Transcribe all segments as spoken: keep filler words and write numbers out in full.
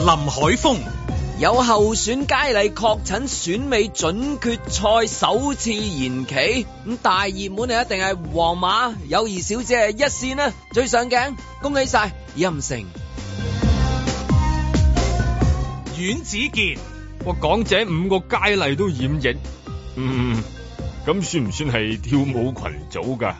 林海峰。 有候選佳麗確診，選美準決賽首次延期，咁大熱門啊一定係皇馬友誼小姐一線啦，最上鏡，恭喜晒任成。 阮子健， 哇，港姐五個佳麗都染疫，嗯，咁算唔算係跳舞群組噶？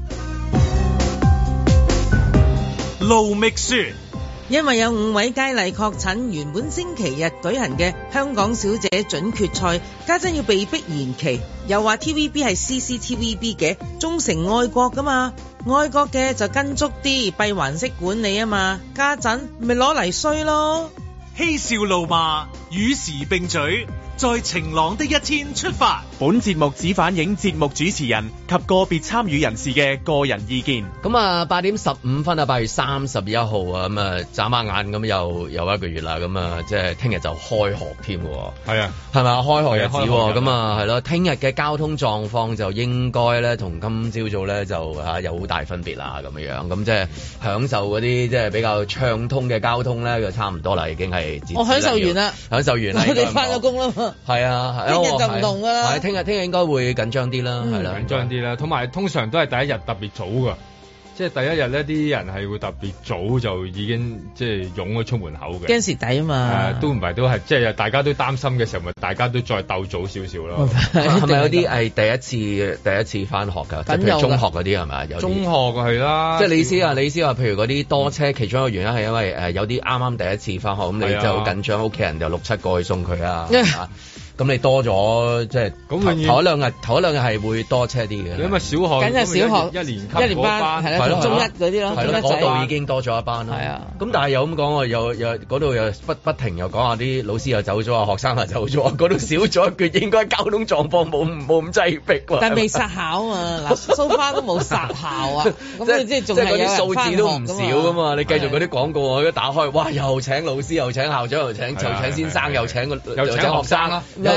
盧覓雪。 因為有五位佳麗確診，原本星期日舉行嘅香港小姐準決賽，家陣要被逼延期。又話 T V B 係 C C T V B 嘅，忠誠愛國噶嘛，愛國嘅就跟足啲閉環式管理啊嘛，家陣咪攞嚟衰咯。 嬉笑怒罵，與時並舉，在晴朗的一天出發。 本節目只反映節目主持人及個別參與人士嘅個人意見。 咁啊，八點十五分啊，八月三十一號啊，咁啊，眨下眼咁又又一個月啦，咁啊，即係聽日就開學添喎。 係啊， 係咪啊？開學日子喎，咁啊， 啊，係咯，聽日嘅交通狀況就應該咧，同今朝早咧就啊有好大分別啦，咁樣樣，咁即係享受嗰啲即係比較暢通嘅交通咧，就差唔多啦，已經係。 我享受完啦， 享受完啦， 我哋翻咗工啦嘛。 係啊， 聽日就唔同㗎啦。 係聽日聽日應該會緊張啲啦，係啦， 緊張啲啦。同埋通常都係第一日特別早㗎，即係第一日呢啲人係會特別早就已經即係湧咗出門口嘅。 驚蝕底啊嘛！ 誒，都唔係都係，即係大家都擔心嘅時候，咪大家都再鬥早少少咯。 係咪有啲係第一次第一次翻學㗎？即係譬如中學嗰啲係咪？有中學係啦。即係你意思啊？你意思話，譬如嗰啲多車，其中一個原因係因為誒有啲啱啱第一次翻學，咁你就好緊張，屋企人就六七個去送佢啊。咁你多咗即係頭頭一兩日，頭一兩日係會多車啲嘅。 因為小學緊係小學一年級一年班係啦，中一嗰啲咯， 係咯，嗰度已經多咗一班啦。係啊，咁但係又咁講喎，又又嗰度又不不停又講下啲老師又走咗啊，學生又走咗，嗰度少咗一橛，應該交通狀況冇冇咁擠迫喎。 但係未殺校啊，嗱，so far都冇殺校啊，咁即係仲係有人翻學㗎嘛。即係嗰啲數字都唔少噶嘛，你繼續嗰啲廣告我一打開，哇！又請老師，又請校長，又請又請先生，又請個又請學生啦。又請學生，請學生，不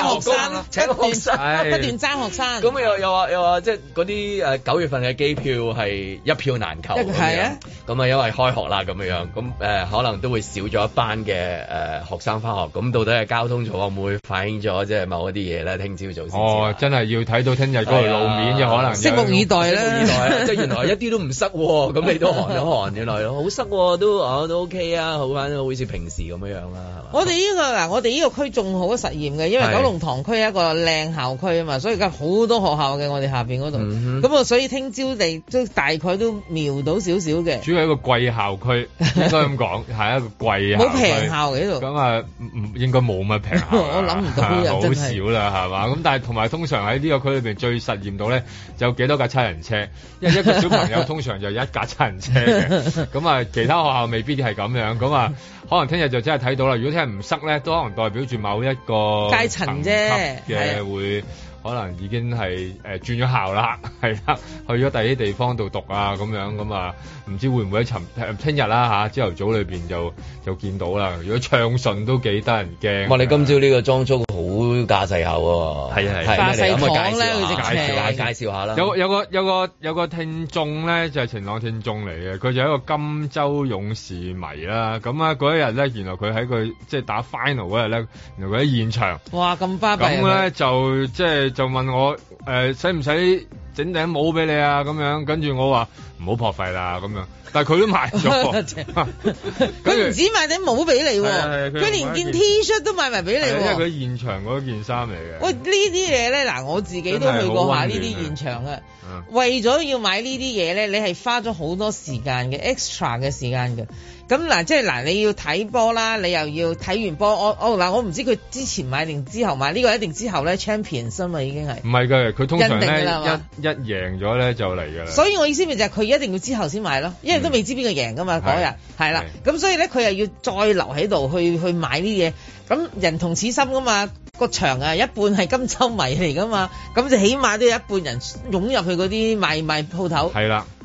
斷爭學生。咁又又話又話，即係嗰啲誒九月份嘅機票係一票難求。係啊。咁啊，因為開學啦咁樣樣，咁誒可能都會少咗一班嘅誒學生翻學。咁到底係交通狀況會唔會反映咗即係某一啲嘢咧？聽朝早先。哦， 真係要睇到聽日嗰條路面嘅可能。拭目以待啦。拭目以待。 即係原來一啲都唔塞喎，咁你都寒咗寒，原來好塞喎，都啊都 OK 啊，好翻好似平時咁樣樣啦，係嘛？我哋呢個嗱，我哋呢個區仲好實驗嘅，因為九龍塘區係一個靚校區啊嘛，所以而家好多學校嘅我哋下邊嗰度，咁啊所以聽朝地都大概都瞄到少少嘅。主要係一個貴校區，應該咁講，係一個貴校區。冇平校嘅呢度。咁啊，唔應該冇乜平校。我諗唔到好少啦，係嘛？咁但係同埋通常喺呢個區裏邊最實驗到咧，就有幾多架七人車，因為一個小朋友通常就一架七人車嘅。咁啊，其他學校未必係咁樣。咁啊，可能聽日就真係睇到啦。如果聽日唔塞咧，都可能代表住某一個階層啫嘅會。可能已經係誒、呃、轉咗校啦，係啦，去咗第啲地方度讀啊，咁樣咁啊，唔知會唔會喺尋聽日啦嚇，朝頭早裏邊就就見到啦。如果暢順都幾得人驚。哇！你今朝呢個裝束好架勢下喎，係啊係。架勢堂咧，佢直情介紹下啦。有有個有個有個聽眾咧，就係、是、晴朗聽眾嚟嘅，佢就係一個金州勇士迷啦。咁啊嗰一日咧，原來佢喺佢即係打 final 嗰日咧，原來佢喺現場。哇！咁巴閉。咁咧就即係。就問我誒使唔使整頂帽俾你啊？咁樣跟住我話唔好破費啦咁樣，但係佢都買咗。佢唔止買頂帽俾你，佢連件 T 恤都買埋俾你。因為佢現場嗰件衫嚟嘅。喂，呢啲嘢咧，嗱我自己都去過下呢啲現場嘅。為咗要買呢啲嘢咧，你係花咗好多時間嘅 extra 嘅時間嘅。咁嗱，即係嗱，你要睇波啦，你又要睇完波，我我嗱，我唔知佢之前買定之後買，呢個一定之後咧 Champions 啊嘛，已經係。唔係嘅，佢通常咧一一贏咗咧就嚟㗎啦。所以我意思咪就係佢一定要之後先買咯，因為都未知邊個贏㗎嘛嗰日，係啦。咁所以咧，佢又要再留喺度去去買呢啲嘢。咁人同此心㗎嘛，個場啊一半係金州迷嚟㗎嘛，咁就起碼都有一半人湧入去嗰啲賣賣鋪頭。係啦。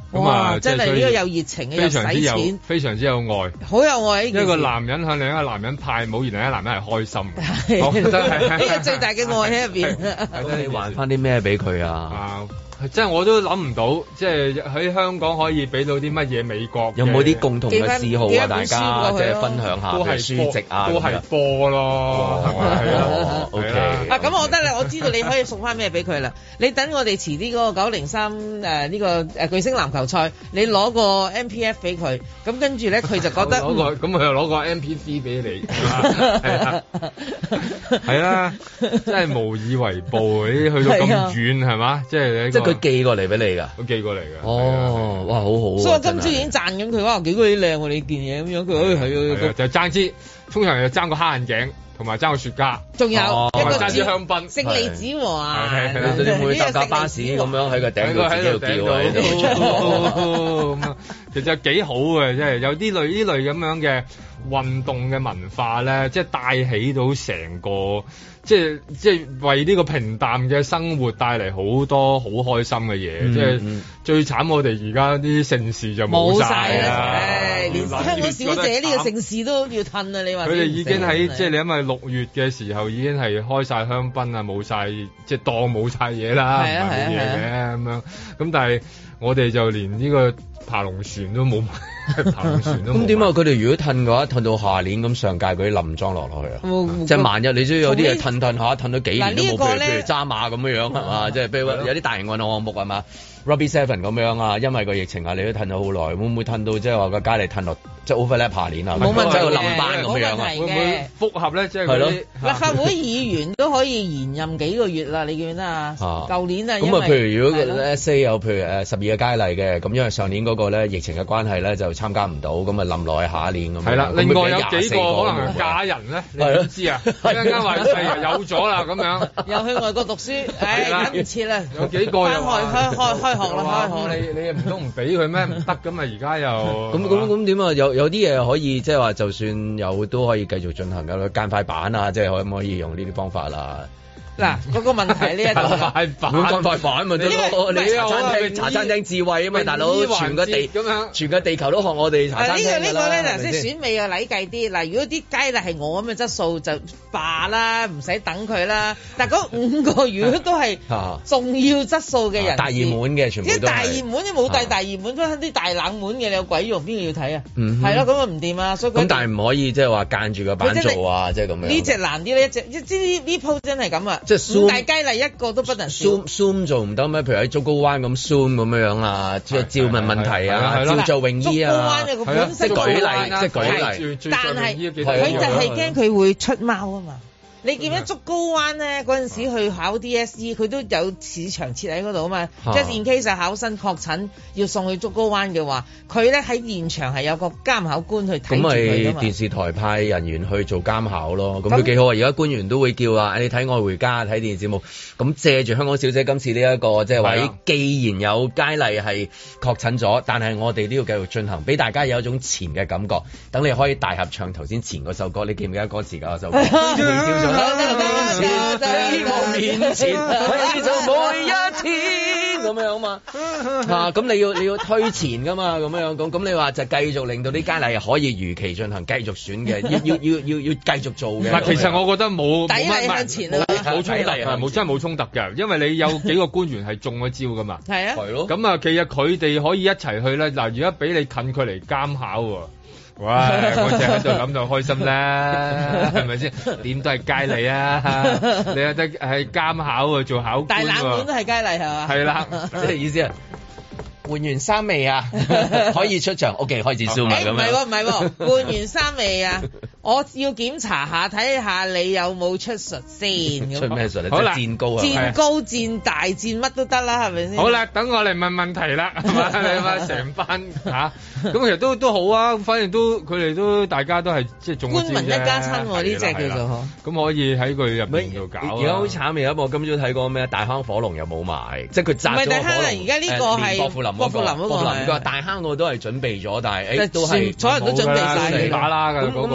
咁啊， 真係呢個有熱情嘅， 非常之有使錢， 非常之有愛， 好有愛。一個男人向另一個男人派舞，而另一個男人係開心嘅，我覺得係呢個最大嘅愛喺入邊。 咁你還翻啲咩俾佢啊？ 啊即係我都諗唔到，即係喺香港可以俾到啲乜嘢美國？ 有冇啲共同嘅嗜好啊？大家即係分享下， 都係書籍啊， 都係波咯，係咪？係啊 ，OK。 啊，咁我覺得咧，我知道你可以送翻咩俾佢啦。你等我哋遲啲嗰個九零三誒呢個誒巨星籃球賽，你攞個 M P F 俾佢，咁跟住咧佢就覺得攞個咁佢又攞個 M P three 俾你，係啦，係啦，真係無以為報，你去到咁遠係嘛？即係你。 佢寄過嚟俾你㗎， 佢寄過嚟㗎。 哦，哇，好好。 所以我今朝已經讚緊佢，哇，幾鬼靚喎！你件嘢咁樣，佢誒係啊， 就爭支，通常就爭個黑眼鏡，同埋爭個雪茄， 仲有一個爭支香檳， 勝利子喎啊！ 你會唔會搭架巴士咁樣喺個頂度自己度叫啊？ 咁啊，其實幾好嘅，即係有啲類呢類咁樣嘅運動嘅文化咧，即係帶起到成個。即係即係為呢個平淡嘅生活帶嚟好多好開心嘅嘢，嗯、即係、嗯、最慘我哋而家啲盛事就冇晒啦， 連香港小姐呢個盛事都要褪啊！你話佢哋已經喺即係你因為六月嘅時候已經係開晒香檳啊，冇晒即係當冇晒嘢啦，唔係冇嘢嘅咁樣，咁但係我哋就連呢個爬龍船都冇。 咁點啊？佢哋如果褪嘅話，褪到下年咁上屆嗰啲冧裝落落去啊！即係萬一你都有啲嘢褪褪下，褪咗幾年都冇，譬如譬如揸馬咁樣樣係嘛？即係譬如有啲大型運動項目係嘛？Rugby Seven 咁樣啊，因為個疫情啊，你都褪咗好耐，會唔會褪到即係話個佳麗褪落即係 overlap 下年啊？ 冇問題嘅， 冧班咁樣啊？ 會唔會複合咧？即係係咯， 立法會議員都可以延任幾個月啦，你記唔記得啊？舊年啊， 咁啊，譬如如果 let's say 有譬如誒十二個佳麗嘅，咁因為上年嗰個咧疫情嘅關係咧就參加唔到，咁啊冧落去下一年咁。 係啦，另外有幾個可能嫁人咧，你點知啊？一陣間話有咗啦，咁樣又去外國讀書，唉，等唔切啦。 有幾個又開開開開學啦，開學。 你你唔通唔俾佢咩？唔得㗎嘛，而家又咁咁咁點啊？有有啲嘢可以即係話，就算有都可以繼續進行㗎。間快板啊，即係可唔可以用呢啲方法啦？ 嗱，嗰個問題呢一度快板，間快板咪得咯。你茶餐廳茶餐廳智慧啊嘛，大佬全個地咁樣，全個地球都學我哋茶餐廳㗎啦。 呢個呢個咧嗱，即係選美嘅禮計啲。嗱，如果啲佳麗係我咁嘅質素就罷啦，唔使等佢啦。但係嗰五個如果都係重要質素嘅人， 大熱門嘅全部都係。 大熱門，你冇帶大熱門，都係啲大冷門嘅，你有鬼用？邊個要睇啊？係咯，咁啊唔掂啊！所以咁但係唔可以即係話間住個板做啊，即係咁樣。 呢隻難啲咧，一隻即係呢鋪真係咁啊！ 即係大佳麗一個都不能 zoom zoom 做唔得咩？譬如喺竹篙灣咁 zoom 咁樣樣啊，即係照問問題啊，照做泳衣啊， 竹篙灣嘅本身即係舉例，即係舉例。 但係佢就係驚佢會出貓啊嘛。你見到竹篙灣咧嗰陣時去考 D S E， 佢都有市場設喺嗰度啊嘛。即係 in case 考生確診要送去竹篙灣嘅話，佢咧喺現場係有個監考官去睇住佢㗎嘛。 咁咪電視台派人員去做監考咯。咁都幾好啊！而家官員都會叫啊，你睇《愛回家》睇電視節目。咁借住香港小姐今次呢、這、一個即係話，既然有佳麗係確診咗，但係我哋都要繼續進行，俾大家有一種前嘅感覺。等你可以大合唱頭先前嗰首歌，你記唔記得歌詞㗎？嗰首歌。喺我面前，喺就每一天咁樣嘛嚇，咁你要你要推前噶嘛，咁樣咁咁你話就繼續令到啲佳麗可以如期進行，繼續選嘅，要要要要要繼續做嘅。 嗱，其實我覺得冇冇乜向前啊， 冇衝突啊，冇真係冇衝突嘅，因為你有幾個官員係中咗招噶嘛。 係啊， 係咯。 咁啊，其實佢哋可以一齊去咧。嗱，而家俾你近距離監考喎。哇！我淨係喺度諗就開心啦，係咪先？點都係佳麗啊！你有得係監考啊，做考官喎。 大冷門都係佳麗係嘛？ 係啦， 即係意思啊！換完衫未啊？可以出場。O K，開始 zoom 啦咁樣。 唔係喎，唔係喎，換完衫未啊？我要檢查下，睇下你有冇出術先。 出咩術咧？ 好啦， 即係戰高啊！ 戰高、戰大、戰乜都得啦，係咪先？ 好啦，等我嚟問問題啦，係嘛？你話成班嚇，咁其實都都好啊，反正都佢哋都大家都係即係中招啫。官民一家親喎，呢隻叫做咁可以喺佢入邊度搞。 而家好慘嘅，我今朝睇過咩？大坑火龍又冇埋，即係佢炸咗個火龍。唔係大坑啊！而家呢個係郭富林。郭富林嗰個大坑我都係準備咗，但係誒都係所有人都準備晒打啦㗎。咁咁你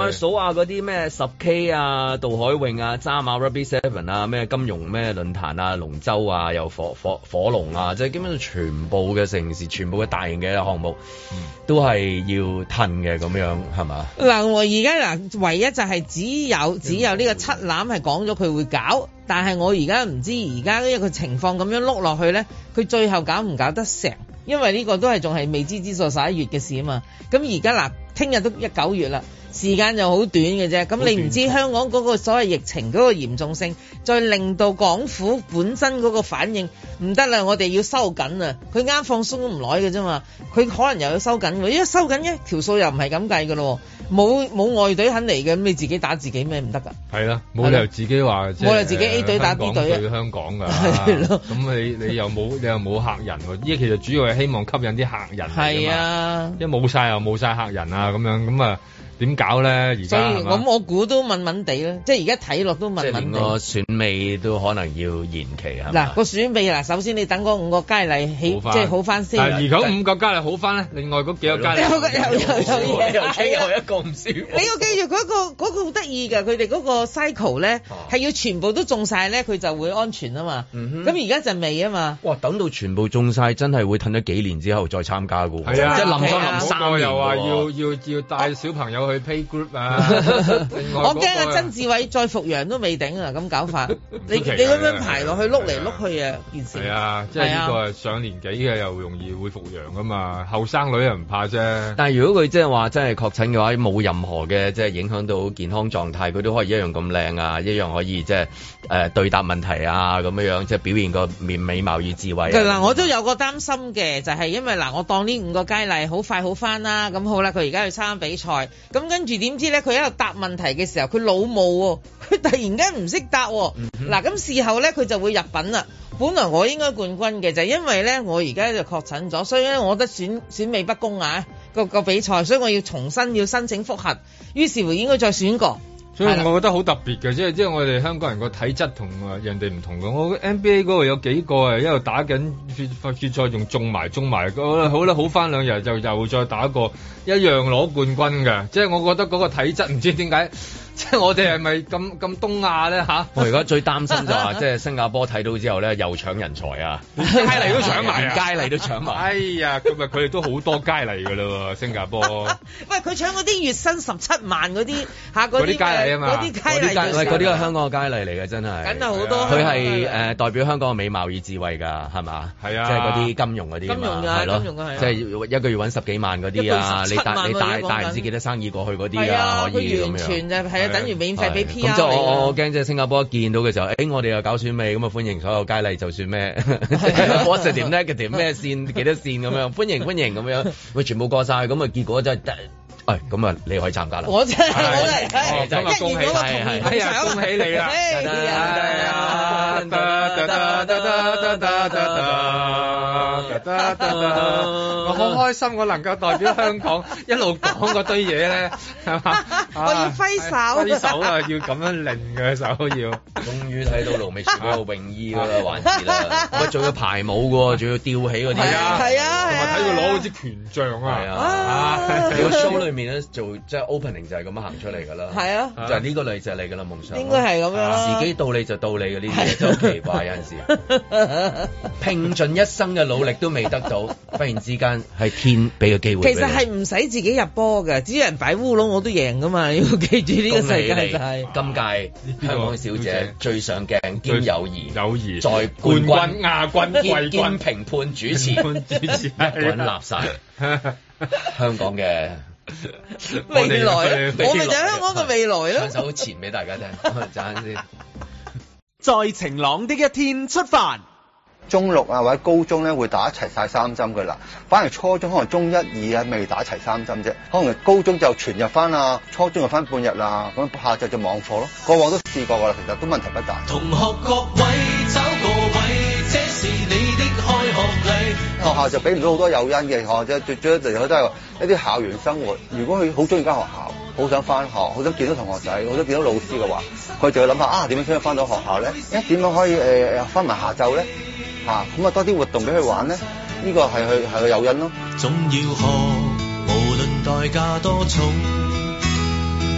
下數下嗰啲咩十 K 啊、渡海泳啊、渣馬 Rugby Seven 啊、咩金融咩論壇啊、龍舟啊、又火火火龍啊，即係基本上全部嘅城市、全部嘅大型嘅項目，嗯、都係要褪嘅咁樣，係嘛？ 嗱，我而家嗱，唯一就係只有只有呢個七欖係講咗佢會搞，但係我而家唔知而家呢個情況咁樣碌落去咧，佢最後搞唔搞得成？因為呢個都係仲係未知之數，十一月嘅事啊嘛。咁而家嗱，聽日都一九月啦，時間就好短嘅啫。咁你唔知香港嗰個所謂疫情嗰個嚴重性，再令到港府本身嗰個反應唔得啦，我哋要收緊啊！佢啱放鬆都唔耐嘅啫嘛，佢可能又要收緊，因為收緊一條數又唔係咁計嘅咯。冇冇外隊肯嚟嘅，咁你自己打自己咩唔得㗎？係啦， 冇理由自己話冇理由自己 A 隊打 B 隊啊！ 對香港㗎，係咯。咁你你又冇你又冇客人喎？依家其實主要係希望吸引啲客人嚟㗎嘛。係啊，因為冇晒又冇晒客人啊，咁樣咁啊。點搞咧？而家咁我估都問問地啦，即係而家睇落都問問地。 即係連個選美都可能要延期係嘛？ 嗱個選美嗱，首先你等嗰五個佳麗起，即係好翻先。 而家五個佳麗好翻咧，另外嗰幾個佳麗有個有有有嘢， 又一個唔舒服。 你要記住嗰個嗰個好得意㗎，佢哋嗰個 cycle 咧係要全部都中晒咧，佢就會安全啊嘛。咁而家就未啊嘛。 哇！等到全部中晒，真係會褪咗幾年之後再參加㗎喎。 係啊， 即係臨咗臨三年又話要要要帶小朋友去 play group 啊。 我驚阿曾志偉再復陽都未頂啊！咁搞法，你你咁樣排落去碌嚟碌去啊，件事係啊，即係呢個係上年紀嘅又容易會復陽噶嘛，後生女又唔怕啫。 但係如果佢即係話真係確診嘅話，冇任何嘅即係影響到健康狀態，佢都可以一樣咁靚啊，一樣可以即係誒對答問題啊咁樣樣，即係表現個面美貌與智慧。 嗱，我都有個擔心嘅，就係因為嗱，我當呢五個佳麗好快好翻啦，咁好啦，佢而家去參加比賽，咁跟住點知咧？佢喺度答問題嘅時候，佢老母喎，佢突然間唔識答喎。嗱、嗯，咁事後咧，佢就會入品啦。本來我應該冠軍嘅，就係、因為咧，我而家就確診咗，所以咧，我覺得選選美不公啊，個個比賽，所以我要重新要申請複核，於是乎應該再選過。 所以我覺得好特別嘅，即係即係我哋香港人個體質同人哋唔同嘅。我 N B A 嗰度有幾個啊，一路打緊決決賽，仲中埋中埋。好啦，好翻兩日就又再打過，一樣攞冠軍嘅。即係我覺得嗰個體質唔知點解。即係我哋係咪咁咁東亞咧嚇？ 我而家最擔心就話，即係新加坡睇到之後咧，又搶人才啊！ 佳麗都搶埋啊！ 佳麗都搶埋。 哎呀，咁啊，佢哋都好多佳麗㗎啦喎，新加坡。 喂，佢搶嗰啲月薪十七萬嗰啲嚇，嗰啲佳麗啊嘛， 嗰啲佳麗。 喂，嗰啲係香港嘅佳麗嚟嘅，真係。 梗係好多。 佢係誒代表香港嘅美貌與智慧㗎，係嘛？ 係啊。 即係嗰啲金融嗰啲。 金融㗎，金融㗎係。 即係一個月揾十幾萬嗰啲啊！你帶你帶帶唔知幾多生意過去嗰啲啊，可以咁樣。 完全就係啊，等於免費俾。 咁即係我我我驚即係新加坡一見到嘅時候，誒、欸、我哋又搞選美咁啊，歡迎所有佳麗，就算咩 positive negative 咩線幾多線咁樣，歡迎歡迎咁樣，喂全部過晒，咁啊結果真係得，誒咁啊你可以參加啦。我真係我嚟， 真係恭喜係係係啊， 恭喜你啦！我好開心，我能夠代表香港一路講嗰堆嘢咧，係嘛？ 我要揮手， 揮手啊！要咁樣擰嘅手要。 終於睇到盧美雪嗰個泳衣嗰個環節啦，喂，仲要排舞嘅喎，仲要吊起嗰啲。 係啊係啊， 同埋睇佢攞嗰支權杖啊！係啊，你個 show 裏面咧做即係 opening 就係咁樣行出嚟㗎啦。係啊， 就係呢個女仔嚟㗎啦，夢想。 應該係咁樣。 時機到你就到你嘅呢啲嘢真係好奇怪，有陣時拼盡一生嘅努力都未得到，忽然之間係天俾個機會。 其實係唔使自己入波嘅，只要人擺烏龍我都贏㗎嘛。你要記住呢個世界就係今屆香港小姐最上鏡兼友誼， 友誼在冠軍、 亞軍、季軍、 兼評判、主持、主持滾立晒香港嘅未來，我咪就係香港嘅未來咯。 唱首前俾大家聽，陣先。 在晴朗的一天出發。 中六啊或者高中咧會打齊晒三針㗎啦，反而初中可能中一二啊未打齊三針啫，可能高中就全日翻啊，初中就翻半日啦，咁下晝就網課咯。過往都試過㗎啦，其實都問題不大。 同學各位找個位，這是你的開學禮。 學校就俾唔到好多誘因嘅，學校啫，最最最都係一啲校園生活。如果佢好中意間學校，好想翻學，好想見到同學仔，好想見到老師嘅話，佢就要諗下啊點樣先可以翻到學校咧？一點樣可以誒翻埋下晝咧？嚇咁啊多啲活動俾佢玩咧，呢、這個係佢係個誘因咯。 總要學，無論代價多重，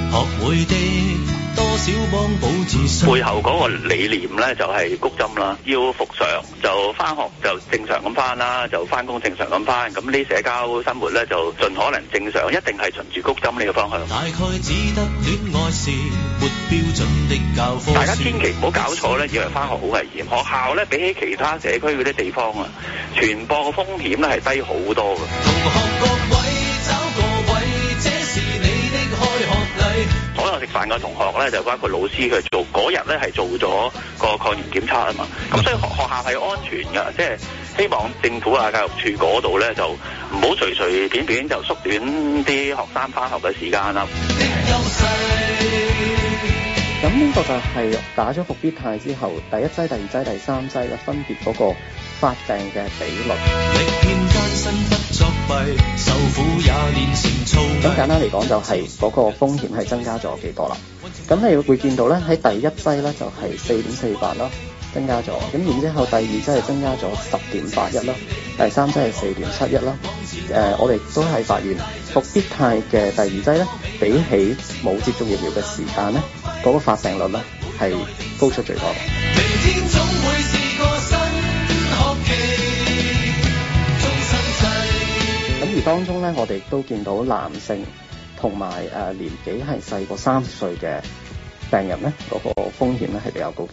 學會的多少幫補自身。 背後嗰個理念咧就係谷針啦，要復常就翻學就正常咁翻啦，就翻工正常咁翻，咁呢社交生活咧就盡可能正常，一定係循住谷針呢個方向。 大概只得戀愛是沒標準的教科書。 大家千祈唔好搞錯咧，以為翻學好危險。學校咧比起其他社區嗰啲地方啊，傳播嘅風險咧係低好多嘅。 同學各位找個位，這是你的開學禮。 所有食飯嘅同學咧，就包括老師佢做嗰日咧係做咗個抗原檢測啊嘛。咁所以學學校係安全㗎，即係希望政府啊教育處嗰度咧就唔好隨隨便便就縮短啲學生翻學嘅時間啦。 咁呢個就係打咗復必泰之後，第一劑、第二劑、第三劑咧分別嗰個發病嘅比率。咁簡單嚟講，就係嗰個風險係增加咗幾多啦？咁你會見到咧，喺第一劑咧就係四點四八啦，增加咗。咁然之後第二劑係增加咗十點八一啦，第三劑係四點七一啦。誒、呃，我哋都係發現復必泰嘅第二劑咧，比起冇接種疫苗嘅時間咧，嗰、那個發病率咧係高出最多嘅。咁而當中咧，我哋都見到男性同埋誒年紀係細過三十歲嘅病人咧，嗰、那個風險咧係比較高嘅。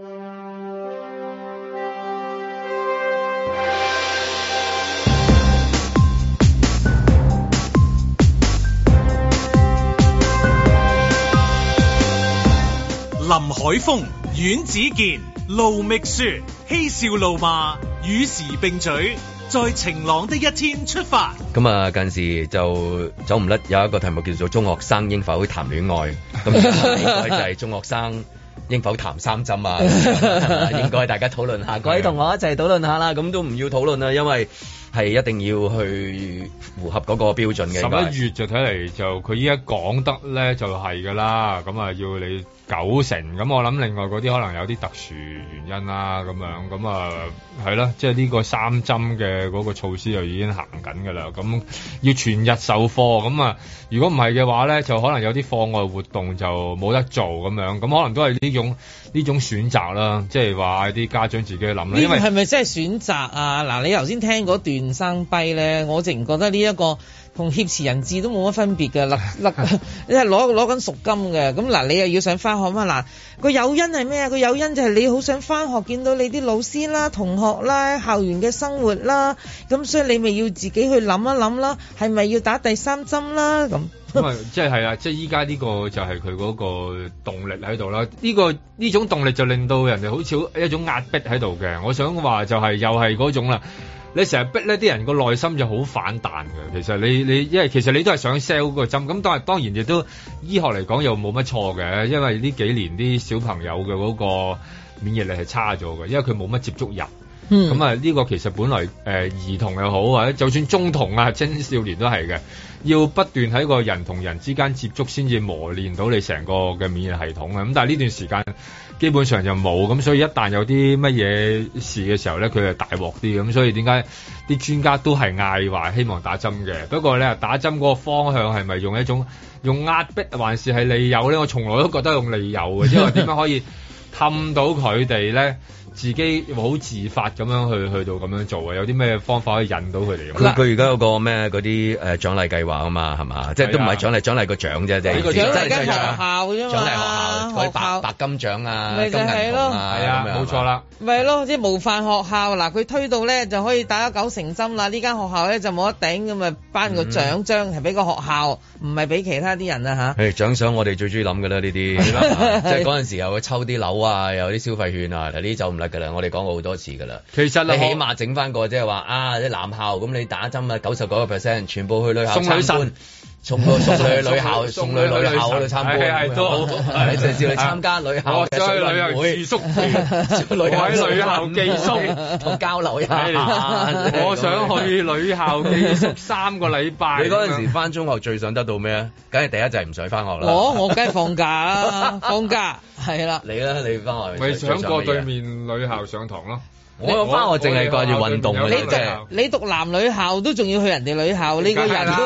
林海峰、阮子健、盧覓雪，嬉笑怒罵，與時並舉，在晴朗的一天出發。 咁啊，近時就走唔甩有一個題目叫做中學生應否談戀愛，咁應該就係中學生應否談三針啊？應該大家討論下，各位同學一齊討論下啦。咁都唔要討論啦，因為係一定要去符合嗰個標準嘅。 十一月就睇嚟就佢依家講得咧就係㗎啦，咁啊要你九成，咁我諗另外嗰啲可能有啲特殊原因啦，咁樣咁啊係啦，即係呢個三針嘅嗰個措施就已經行緊㗎啦，咁要全日授課，咁啊如果唔係嘅話咧，就可能有啲課外活動就冇得做咁樣，咁可能都係呢種呢種選擇啦，即係話啲家長自己去諗啦。因為係咪真係選擇啊？嗱，你頭先聽嗰段生跛咧，我淨覺得呢一個同挾持人質都冇乜分別嘅，甩甩你係攞攞緊贖金嘅。咁嗱，你又要想翻學嘛？嗱，個誘因係咩啊？個誘因就係你好想翻學，見到你啲老師啦、同學啦、校園嘅生活啦，咁所以你咪要自己去諗一諗啦，係咪要打第三針啦？咁咁啊，即係係啊，即係依家呢個就係佢嗰個動力喺度啦。呢個呢種動力就令到人哋好似一種壓迫喺度嘅。我想話就係又係嗰種啦。你成日逼呢啲人個內心就好反彈嘅。其實你你因為其實你都係想 sell 個針，咁但係當然亦都醫學嚟講又冇乜錯嘅，因為呢幾年啲小朋友嘅嗰個免疫力係差咗嘅，因為佢冇乜接觸人。咁啊呢個其實本來誒、呃、兒童又好或者就算中童啊青少年都係嘅，要不斷喺個人同人之間接觸先至磨練到你成個嘅免疫系統啊。咁但係呢段時間基本上就冇，咁所以一旦有啲乜嘢事嘅時候咧，佢係大鑊啲，咁所以點解啲專家都係嗌話希望打針嘅？不過咧打針嗰個方向係咪用一種用壓迫還是係利誘咧？我從來都覺得用利誘嘅，即係話點樣可以氹到佢哋咧？自己好自發咁樣去去到咁樣做啊！有啲咩方法可以引到佢哋？ 佢佢而家有個咩嗰啲誒獎勵計劃啊嘛，係嘛？即係都唔係獎勵獎勵個獎啫，即係獎勵間學校啫嘛， 獎勵學校嗰啲白白金獎啊、金銀銅啊， 係啊，冇錯啦。 咪咯，即係模範學校嗱，佢推到咧就可以打咗九成針啦。呢間學校咧就冇得頂咁啊，頒個獎章係俾個學校，唔係俾其他啲人啊嚇。 誒獎賞我哋最中意諗㗎啦，呢啲即係嗰陣時又會抽啲樓啊，有啲消費券啊，嗱呢啲就唔甩㗎啦。我哋講過好多次㗎啦。其實你起碼整翻個即係話啊，啲男校咁你打針啊，九十九個 percent 全部去女校參觀。送個送女女校，送女女校嗰度參觀，係係都好，係直接去參加女校嘅水運會住宿，我喺女校寄宿同交流一下。 我想去女校寄宿三個禮拜。 你嗰陣時翻中學最想得到咩啊？梗係第一就係唔使翻學啦。 我我梗係放假啦，放假係啦。 你咧，你翻學咪想過對面女校上堂咯？ 我翻學淨係掛住運動嘅。 你讀你讀男女校都仲要去人哋女校，呢個人都。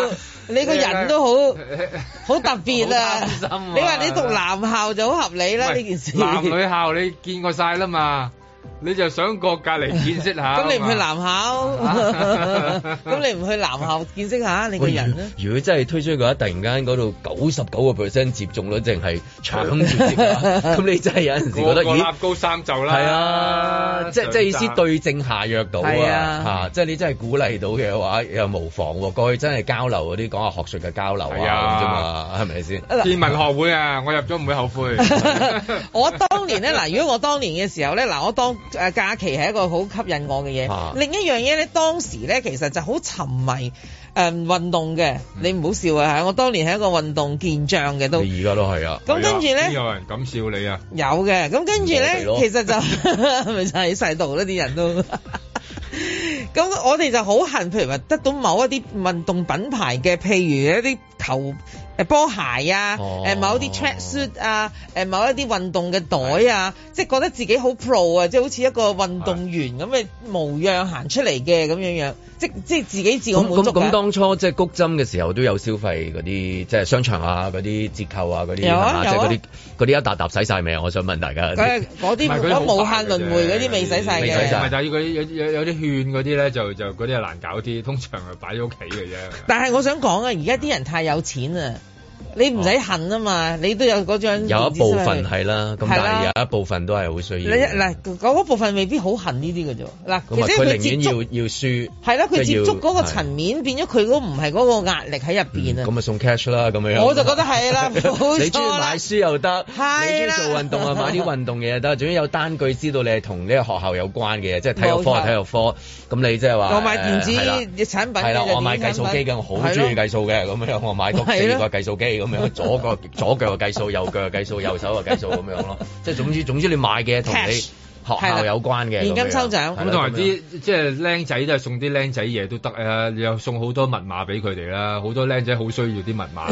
你個人都好好特別啊！ 啊你話你讀男校就好合理啦，呢件事。 男女校你見過晒啦嘛？你就想過隔離見識下， 咁你唔去男校，咁你唔去男校見識下你個人咧？ 如果真係推出嘅話，突然間嗰度九十九個 percent 接種率，淨係搶住接，咁你真係有陣時覺得， 個個立高三袖啦， 係啊，即係即係意思對症下藥到啊，嚇，即係你真係鼓勵到嘅話，又無妨喎。過去真係交流嗰啲講下學術嘅交流啊，咁啫嘛，係咪先？ 建文學會啊，我入咗唔會後悔。 我當年咧，嗱，如果我當年嘅時候咧，嗱，我當誒假期係一個好吸引我嘅嘢。啊、另一樣嘢咧，當時咧其實就好沉迷誒、呃、運動嘅。嗯、你唔好笑啊！我當年係一個運動健將嘅都。你而家都係啊。咁跟住咧， 有人敢笑你啊？ 有嘅。咁跟住咧，其實就咪就喺細度啦，啲人都。咁我哋就好恨，譬如話得到某一啲運動品牌嘅，譬如一啲球誒波鞋啊，誒、哦、某一啲 track suit 啊，誒某一啲運動嘅袋啊，即係覺得自己好 pro 啊，即係好似一個運動員咁嘅模樣行出嚟嘅咁樣樣，即即係自己自我滿足。 咁咁當初即係谷針嘅時候都有消費嗰啲，即係商場啊嗰啲折扣啊嗰啲， 有啊有啊， 即係嗰啲嗰啲一沓沓洗晒未啊？我想問大家。 嗰啲嗰無限輪迴嗰啲未洗晒嘅。 未洗晒。 唔係，但係嗰啲有有有啲券嗰啲咧，就就嗰啲係難搞啲，通常係擺喺屋企嘅啫。 但係我想講啊，而家啲人太有錢啊！你唔使恨啊嘛，你都有嗰張。 有一部分係啦，咁但係有一部分都係好需要。 嗱，嗰部分未必好恨呢啲嘅啫。嗱，其實佢寧願要要輸。係啦，佢接觸嗰個層面變咗，佢嗰唔係嗰個壓力喺入邊啊。 咁咪送 cash 啦，咁樣。 我就覺得係啦，你中意買書又得，你中意做運動啊，買啲運動嘢又得，總之有單據知道你係同呢個學校有關嘅嘢，即係體育科係體育科。咁你即係話。 我買電子產品。 係啦，我買計數機嘅，我好中意計數嘅，咁樣我買多四個計數機。咁樣左個左腳嘅計數，右腳嘅計數，右手嘅計數咁樣咯。即係總之總之你買嘅同你學校有關嘅現金抽獎。 咁同埋啲即係僆仔都係送啲僆仔嘢都得啊！你又送好多密碼俾佢哋啦，好多僆仔好需要啲密碼。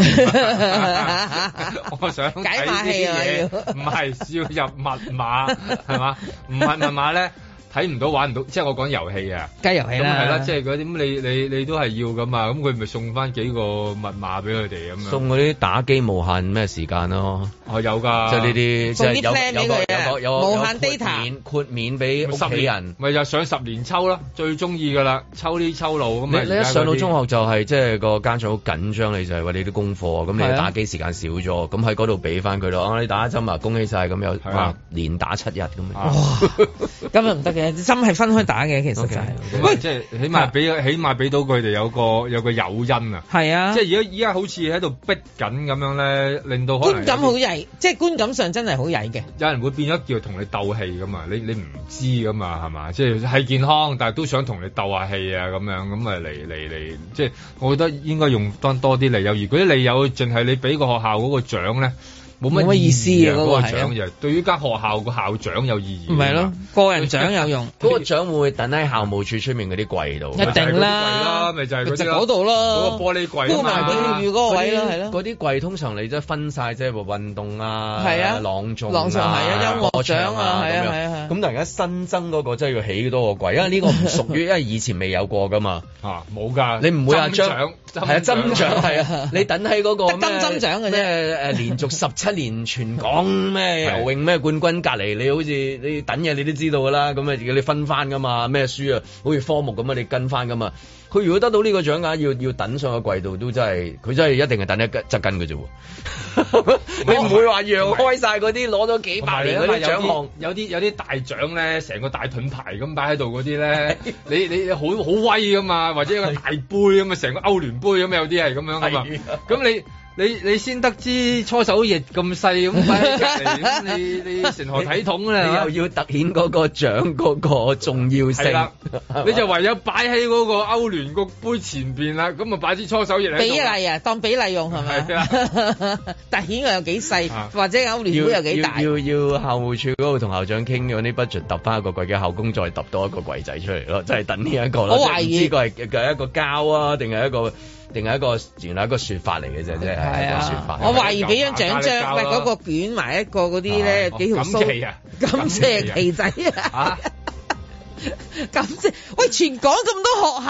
我想解碼器啊， 唔係要入密碼係嘛？唔係密碼咧。睇唔到玩唔到，即係我講遊戲啊， 計遊戲啦， 咁係啦，即係嗰啲咁你你你都係要噶嘛，咁佢咪送翻幾個密碼俾佢哋咁樣， 送嗰啲打機無限咩時間咯， 哦有㗎， 即係呢啲即係有 plan 俾佢有無限 data 豁免俾屋企人， 咪就上十年抽咯，最中意㗎啦，抽呢抽路咁啊！ 你一上到中學就係即係個家長好緊張你，就係話你啲功課，咁你打機時間少咗，咁喺嗰度俾翻佢咯，你打一針啊，恭喜晒咁有哇連打七日咁樣， 咁又唔得嘅。針係分開打嘅，其實就係， 喂，即係起碼俾起碼俾到佢哋有個有個誘因啊， 係啊， 即係而家依家好似喺度逼緊咁樣咧，令到可能觀感好曳，即係觀感上真係好曳嘅。 有人會變咗叫同你鬥氣噶嘛，你你唔知噶嘛係嘛，即係係健康，但係都想同你鬥下氣啊咁樣，咁啊嚟嚟嚟，即係我覺得應該用多多啲理由。如果啲理由淨係你俾個學校嗰個獎咧。冇乜意思啊！嗰個獎就對於間學校個校長有意義。 唔係咯，個人獎有用。 嗰個獎會唔會等喺校務處出面嗰啲櫃度？ 一定啦， 咪就係嗰度咯。 嗰個玻璃櫃。 鋪埋佢嗰個位咯，係咯。 嗰啲櫃通常你即係分晒，即係運動啊、 係啊、 朗誦、 朗誦係啊、音樂獎啊，係啊係啊。 咁但係而家新增嗰個真係要起多個櫃，因為呢個唔屬於，因為以前未有過噶嘛。 啊，冇㗎。 你唔會話將係啊針獎係啊，你等喺嗰個金針獎嘅啫。 誒連續十七年全港。講咩游泳咩冠軍，隔離你好似你等嘢你都知道噶啦，咁啊要你分翻噶嘛，咩書啊，好似科目咁啊，你跟翻噶嘛。佢如果得到呢個獎額，要要等上個櫃度都真係，佢真係一定係等一側跟嘅啫喎。你唔會話讓開晒嗰啲攞咗幾百年嗰啲獎項， 有啲有啲大獎咧，成個大盾牌咁擺喺度嗰啲咧，你你好好威噶嘛，或者一個大杯咁啊，成個歐聯杯咁有啲係咁樣噶嘛，咁你。你你先得知搓手液咁細咁擺喺隔離，咁你你成何體統咧？ 你又要突顯嗰個獎嗰個重要性， 吧你就唯有擺喺嗰個歐聯個杯前邊啦。咁啊擺支搓手液喺度。 比例啊，當比例用係咪？係啊，突顯佢有幾細，啊、或者歐聯杯有幾大？ 要要，要校務處嗰度同校長傾嗰啲 budget，揼翻一個櫃嘅校工，再揼多一個櫃仔出嚟咯，即係等呢一個咯。 我懷疑呢個係係一個膠啊，定係一個？定係一個原來一個説法嚟嘅啫，即係一個説法。 我懷疑俾張獎章，喂嗰個捲埋一個嗰啲咧幾條鬚， 錦旗啊， 錦旗旗仔啊，錦旗喂！全港咁多學校，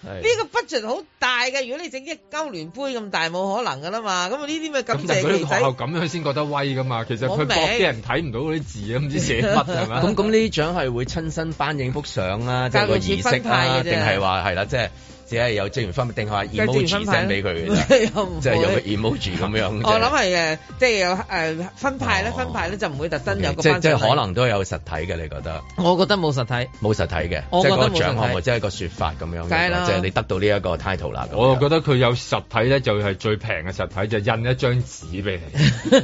呢個 budget 好大嘅，如果你整一歐聯杯咁大，冇可能噶啦嘛。咁啊呢啲咪感謝佢學校咁樣先覺得威噶嘛。其實佢博啲人睇唔到嗰啲字啊，唔知寫乜係咪？ 咁咁呢啲獎係會親身頒影幅相啊，即係個儀式啊，定係話係啦，即係。只係有職員分，定係話 emoji send 俾佢嘅啫，即係有個 emoji 咁樣。 我諗係誒，即係有誒分派咧，分派咧就唔會特登有個。 即即係可能都有實體嘅，你覺得？ 我覺得冇實體， 冇實體嘅，即係個獎項或者係個説法咁樣。 梗係啦， 即係你得到呢一個 title 啦。 我覺得佢有實體咧，就係最平嘅實體，就印一張紙俾你。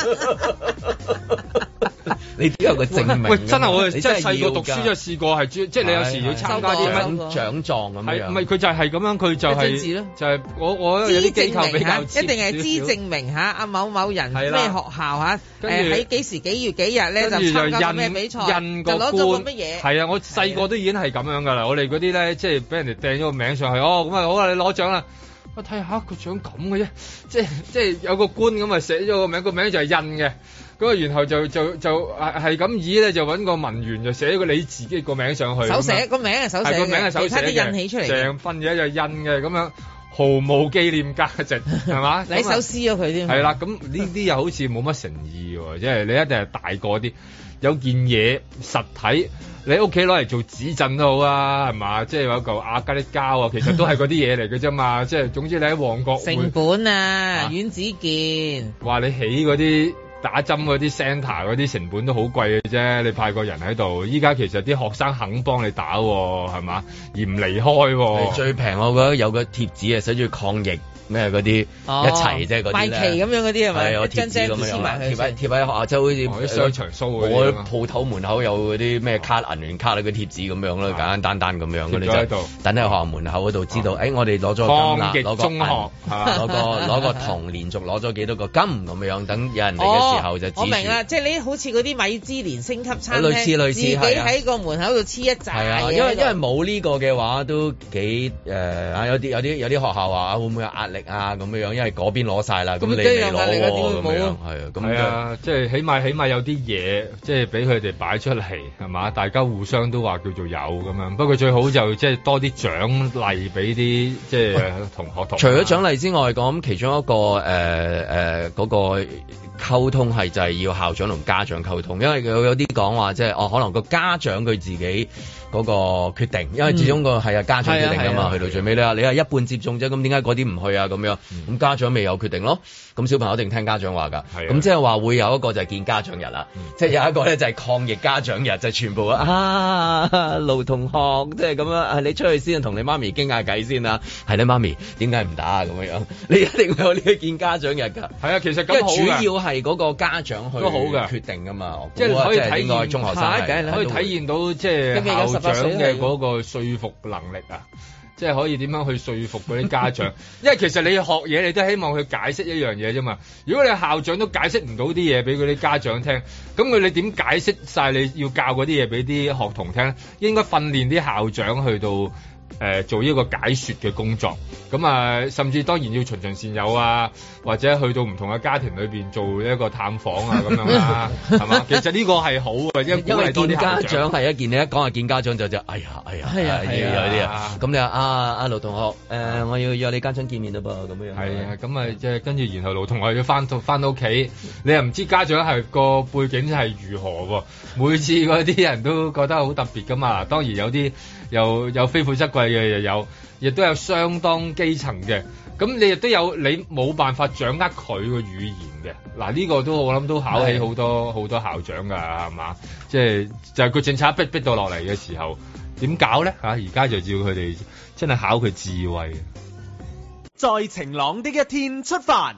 你都有個證明。 喂，真係我哋真係細個讀書就試過係即係你有時要參加啲獎獎狀咁樣。 唔係佢就係咁樣，佢就係就係我我有啲機構比較一定係資證明嚇阿某某人咩學校嚇，誒喺幾時幾月幾日咧就參加咩比賽，就攞咗個乜嘢。 係啊，我細個都已經係咁樣㗎啦。我哋嗰啲咧即係俾人哋掟咗個名上去，哦咁啊好啦，你攞獎啦。我睇下個獎咁嘅啫，即係即係有個官咁啊寫咗個名，個名就係印嘅。咁啊，然後就就就係咁以咧，就揾個文員就寫個你自己個名上去。 手寫個名係手寫嘅，個名係手寫嘅，印起出嚟。 成份嘢就印嘅，咁樣毫無紀念價值，係嘛？ 你手撕咗佢添。 係啦，咁呢啲又好似冇乜誠意喎，即係你一定係大個啲，有件嘢實體，你屋企攞嚟做紙鎮都好啊，係嘛？即係有嚿亞加力膠啊，其實都係嗰啲嘢嚟嘅啫嘛。即係總之你喺旺角成本啊，阮子健話你起嗰啲。打針嗰啲 centre 嗰啲成本都好貴嘅啫，你派個人喺度，依家其實啲學生肯幫你打係嘛，而唔離開。 最平我覺得有個貼紙啊，寫住抗疫咩嗰啲一齊即係嗰啲賣旗咁樣嗰啲係咪？ 係張貼紙咁樣貼喺貼喺學校，即係好似啲商場 show 我鋪頭門口有嗰啲咩卡銀聯卡嗰啲貼紙咁樣咯，簡簡單單咁樣，你就等喺學校門口嗰度知道，誒我哋攞咗金啦，攞個銀，攞個攞個銅，連續攞咗幾多個金咁樣，等有人嚟嘅時候就我明啦，即係你好似嗰啲米芝蓮星級餐廳， 類似類似，自己喺個門口度黐一紮。係啊， 因為因為冇呢個嘅話都幾誒啊！有啲有啲有啲學校話會唔會有壓力啊咁樣樣，因為嗰邊攞晒啦，咁你未攞喎咁樣，係啊，咁係啊，即係起碼起碼有啲嘢，即係俾佢哋擺出嚟係嘛，大家互相都話叫做有咁樣。不過最好就即係多啲獎勵俾啲即係同學同學。 除咗獎勵之外，講其中一個誒誒嗰個。溝通係就係要校長同家長溝通，因為有有啲講話即係哦，可能個家長佢自己嗰個決定，因為始終個係啊家長決定㗎嘛，去到最尾咧，你係一半接種啫，咁點解嗰啲唔去啊？咁樣咁家長未有決定咯，咁小朋友一定聽家長話㗎，咁即係話會有一個就係見家長日啦，即係有一個咧就係抗疫家長日，就全部啊盧同學即係咁樣啊，你出去先同你媽咪傾下偈先啊，係你媽咪點解唔打啊？咁樣你一定會有呢個見家長日㗎， 係啊，其實咁好主要係嗰個家長去決定㗎嘛， 即係可以體現中學生可以體現到即係校長嘅嗰個說服能力啊，即係可以點樣去說服嗰啲家長？因為其實你學嘢，你都希望佢解釋一樣嘢啫嘛。如果你校長都解釋唔到啲嘢俾嗰啲家長聽，咁佢你點解釋晒你要教嗰啲嘢俾啲學童聽？應該訓練啲校長去到。誒、呃、做呢個解說嘅工作，咁啊，甚至當然要循循善誘啊，或者去到唔同嘅家庭裏邊做一個探訪啊，咁樣啊，係嘛？其實呢個係好嘅，因為因為見家長係一件，你一講係見家長就就哎呀哎呀，係啊係啊啲啊，咁你話啊啊盧同學，誒、呃、我要約你家長見面嘞噃，咁樣係啊，咁啊即係跟住然後盧同學要翻到翻到屋企，你又唔知家長係個背景係如何喎？每次嗰啲人都覺得好特別噶嘛，當然有啲。又有非富則貴嘅，又有，亦都有相當基層嘅。咁你亦都有你冇辦法掌握佢嘅語言嘅。嗱呢、這個都我諗都考起好多好多校長㗎，係嘛？即係就係、是、佢政策逼逼到落嚟嘅時候，點搞咧？嚇而家就要佢哋真係考佢智慧。 在晴朗的一天出發。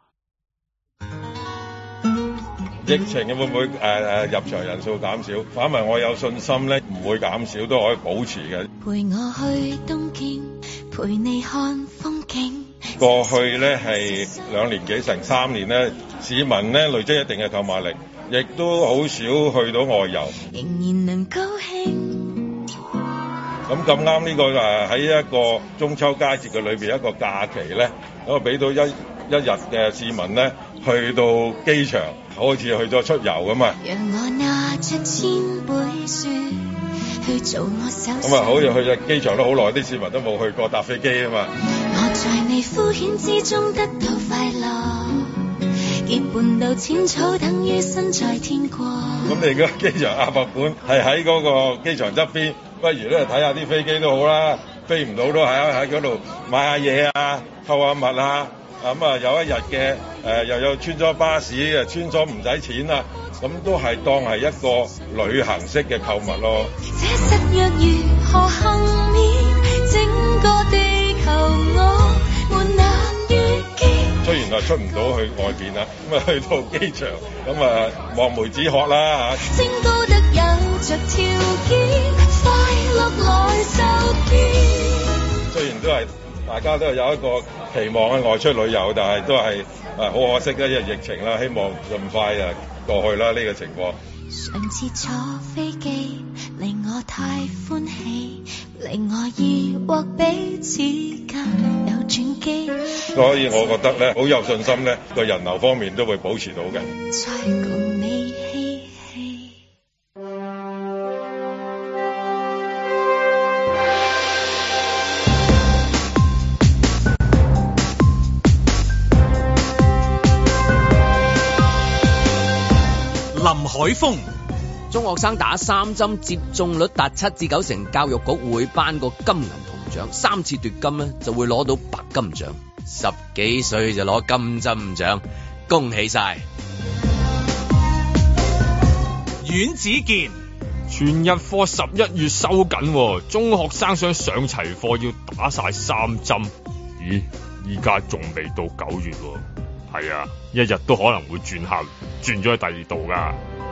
疫情會唔會誒誒、呃、入場人數減少？反為我有信心咧，唔會減少，都可以保持嘅。 陪我去東京，陪你看風景。 過去咧係兩年幾成三年咧，市民咧累積一定嘅購買力，亦都好少去到外遊。 仍然能高興。 咁咁啱呢個誒喺一個中秋佳節嘅裏邊一個假期咧，咁啊俾到一一日嘅市民咧去到機場。 好似去咗出遊咁啊。 讓我拿着千杯雪去做我手咁啊，好似去咗機場都好耐，啲市民都冇去過搭飛機啊嘛。 我在你敷衍之中得到快樂，結伴到淺草等於身在天國。 咁你個機場亞博館係喺嗰個機場側邊，不如咧睇下啲飛機都好啦。飛唔到都喺喺嗰度買下嘢啊，購下物啊。咁啊，有一日嘅誒又有穿梭巴士嘅，穿梭唔使錢啦，咁都係當係一個旅行式嘅購物咯。 這實若如何幸免，整個地球我們難遇見。 雖然話出唔到去外邊啦，咁啊去到機場，咁啊望梅止渴啦嚇。 升高得有着條件，快樂來受騙。 雖然都係。大家都係有一個期望喺外出旅遊，但係都係啊好可惜啦，因為疫情啦，希望盡快啊過去啦呢個情況。 上次坐飛機令我太歡喜，令我疑惑彼此間有轉機。 所以我覺得咧，好有信心咧，個人流方面都會保持到嘅。 再共你嬉戲。 林海峰， 中學生打三針接種率達七至九成，教育局會頒個金銀銅獎，三次奪金呢就會攞到白金獎，十幾歲就攞金針獎，恭喜晒！ 阮子健， 全日課十一月收緊，中學生想上齊課要打晒三針。咦，依家仲未到九月喎。係啊，一日都可能會轉校，轉咗去第二度噶。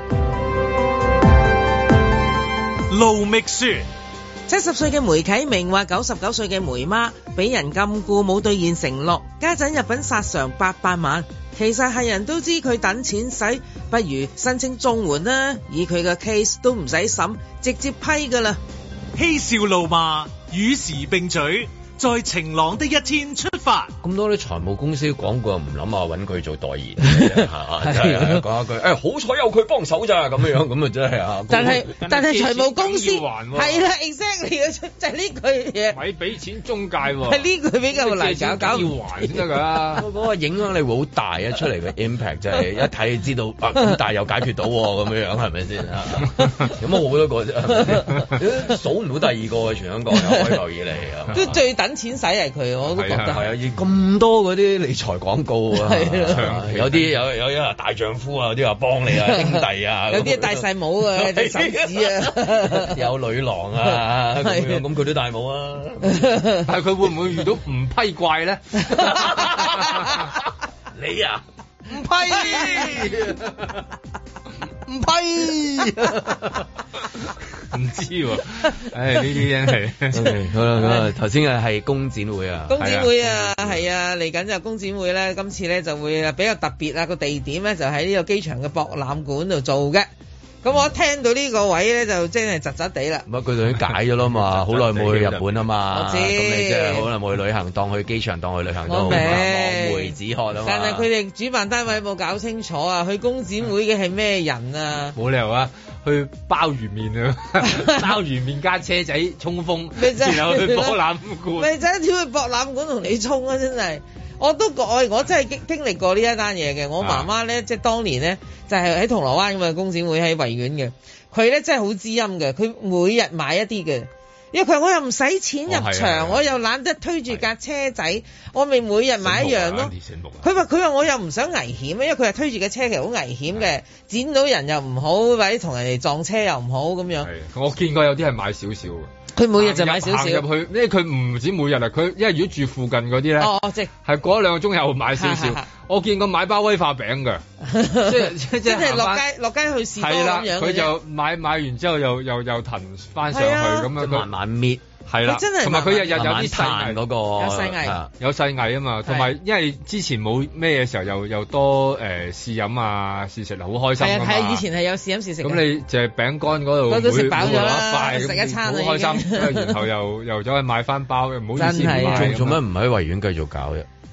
盧覓雪， 七十歲嘅梅啟明話九十九歲嘅梅媽俾人禁錮冇兌現承諾，家陣入稟索償八百萬。其實係人都知佢等錢使，不如申請綜援啦。以佢嘅 case 都唔使審，直接批噶啦。 嬉笑怒罵，與時並舉。在晴朗的一天出發。 咁多啲財務公司廣告唔諗下揾佢做代言，係真係講一句，誒、欸、好彩有佢幫手咋咁樣，咁啊真係啊！ 但係但係財務公司係啦 ，exactly 就係呢句嘢， 咪俾錢中介喎， 係呢句比較難搞，搞要還先得㗎。嗰個影響力會好大啊，出嚟嘅 impact 就係一睇就知道啊，咁但係又解決到咁樣樣係咪先啊？咁我好多個啫，數唔到第二個嘅全香港有開埠以嚟啊， 都最等錢使係佢，我都覺得係啊，咁多嗰啲理財廣告啊，有啲有有啲大丈夫啊，有啲話幫你啊兄弟啊， 有啲戴晒帽啊，有啲手指啊， 有女郎啊咁樣，咁佢都戴帽啊， 但係佢會唔會遇到唔批怪咧？ 你啊唔批唔批。 唔知喎，唉呢啲真係好啦，咁啊頭先嘅係工展會啊， 工展會啊，係啊，嚟緊就工展會咧，今次咧就會比較特別啊，個地點咧就喺呢個機場嘅博覽館度做嘅。咁我一聽到呢個位咧，就真係窒窒地啦。 乜佢哋已經解咗啦嘛，好耐冇去日本啊嘛。 我知。 咁你即係好耐冇去旅行，當去機場當去旅行都好嘛，望梅止渴啊嘛。 但係佢哋主辦單位冇搞清楚啊，去工展會嘅係咩人啊？ 冇理由啊，去鮑魚麵啊，鮑魚麵加車仔衝鋒，然後去博覽館。 咪就係跳去博覽館同你衝啊！真係。我都我我真係經經歷過呢一單嘢嘅，我媽媽咧、啊、即係當年咧就係、是、喺銅鑼灣咁嘅工展會喺維園嘅，佢咧真係好知音嘅，佢每日買一啲嘅，因為佢我又唔使錢入場，哦、我又懶得推住架車仔，我咪每日買一樣咯。佢話佢話我又唔想危險，因為佢係推住架車其實好危險嘅，剪到人又唔好，或者同人哋撞車又唔好咁樣。 我見過有啲係買少少嘅。 佢每日就買少少入去，因為佢唔止每日啊，佢因為如果住附近嗰啲咧， 哦哦，即係過一兩個鐘又買少少。我見過買包威化餅嘅，即係即係即係落街落街去士多咁樣。 佢就買買完之後又又又騰翻上去咁樣， 慢慢搣。 係啦，同埋佢日日有啲細藝嗰個有細藝， 有細藝啊嘛，同埋因為之前冇咩嘅時候，又又多誒試飲啊試食，好開心啊嘛。 係啊，以前係有試飲試食。 咁你就係餅乾嗰度， 嗰度食飽咗啦， 食一餐好開心。然後又又走去買翻包，唔好意思， 做做乜唔喺維園繼續搞啫？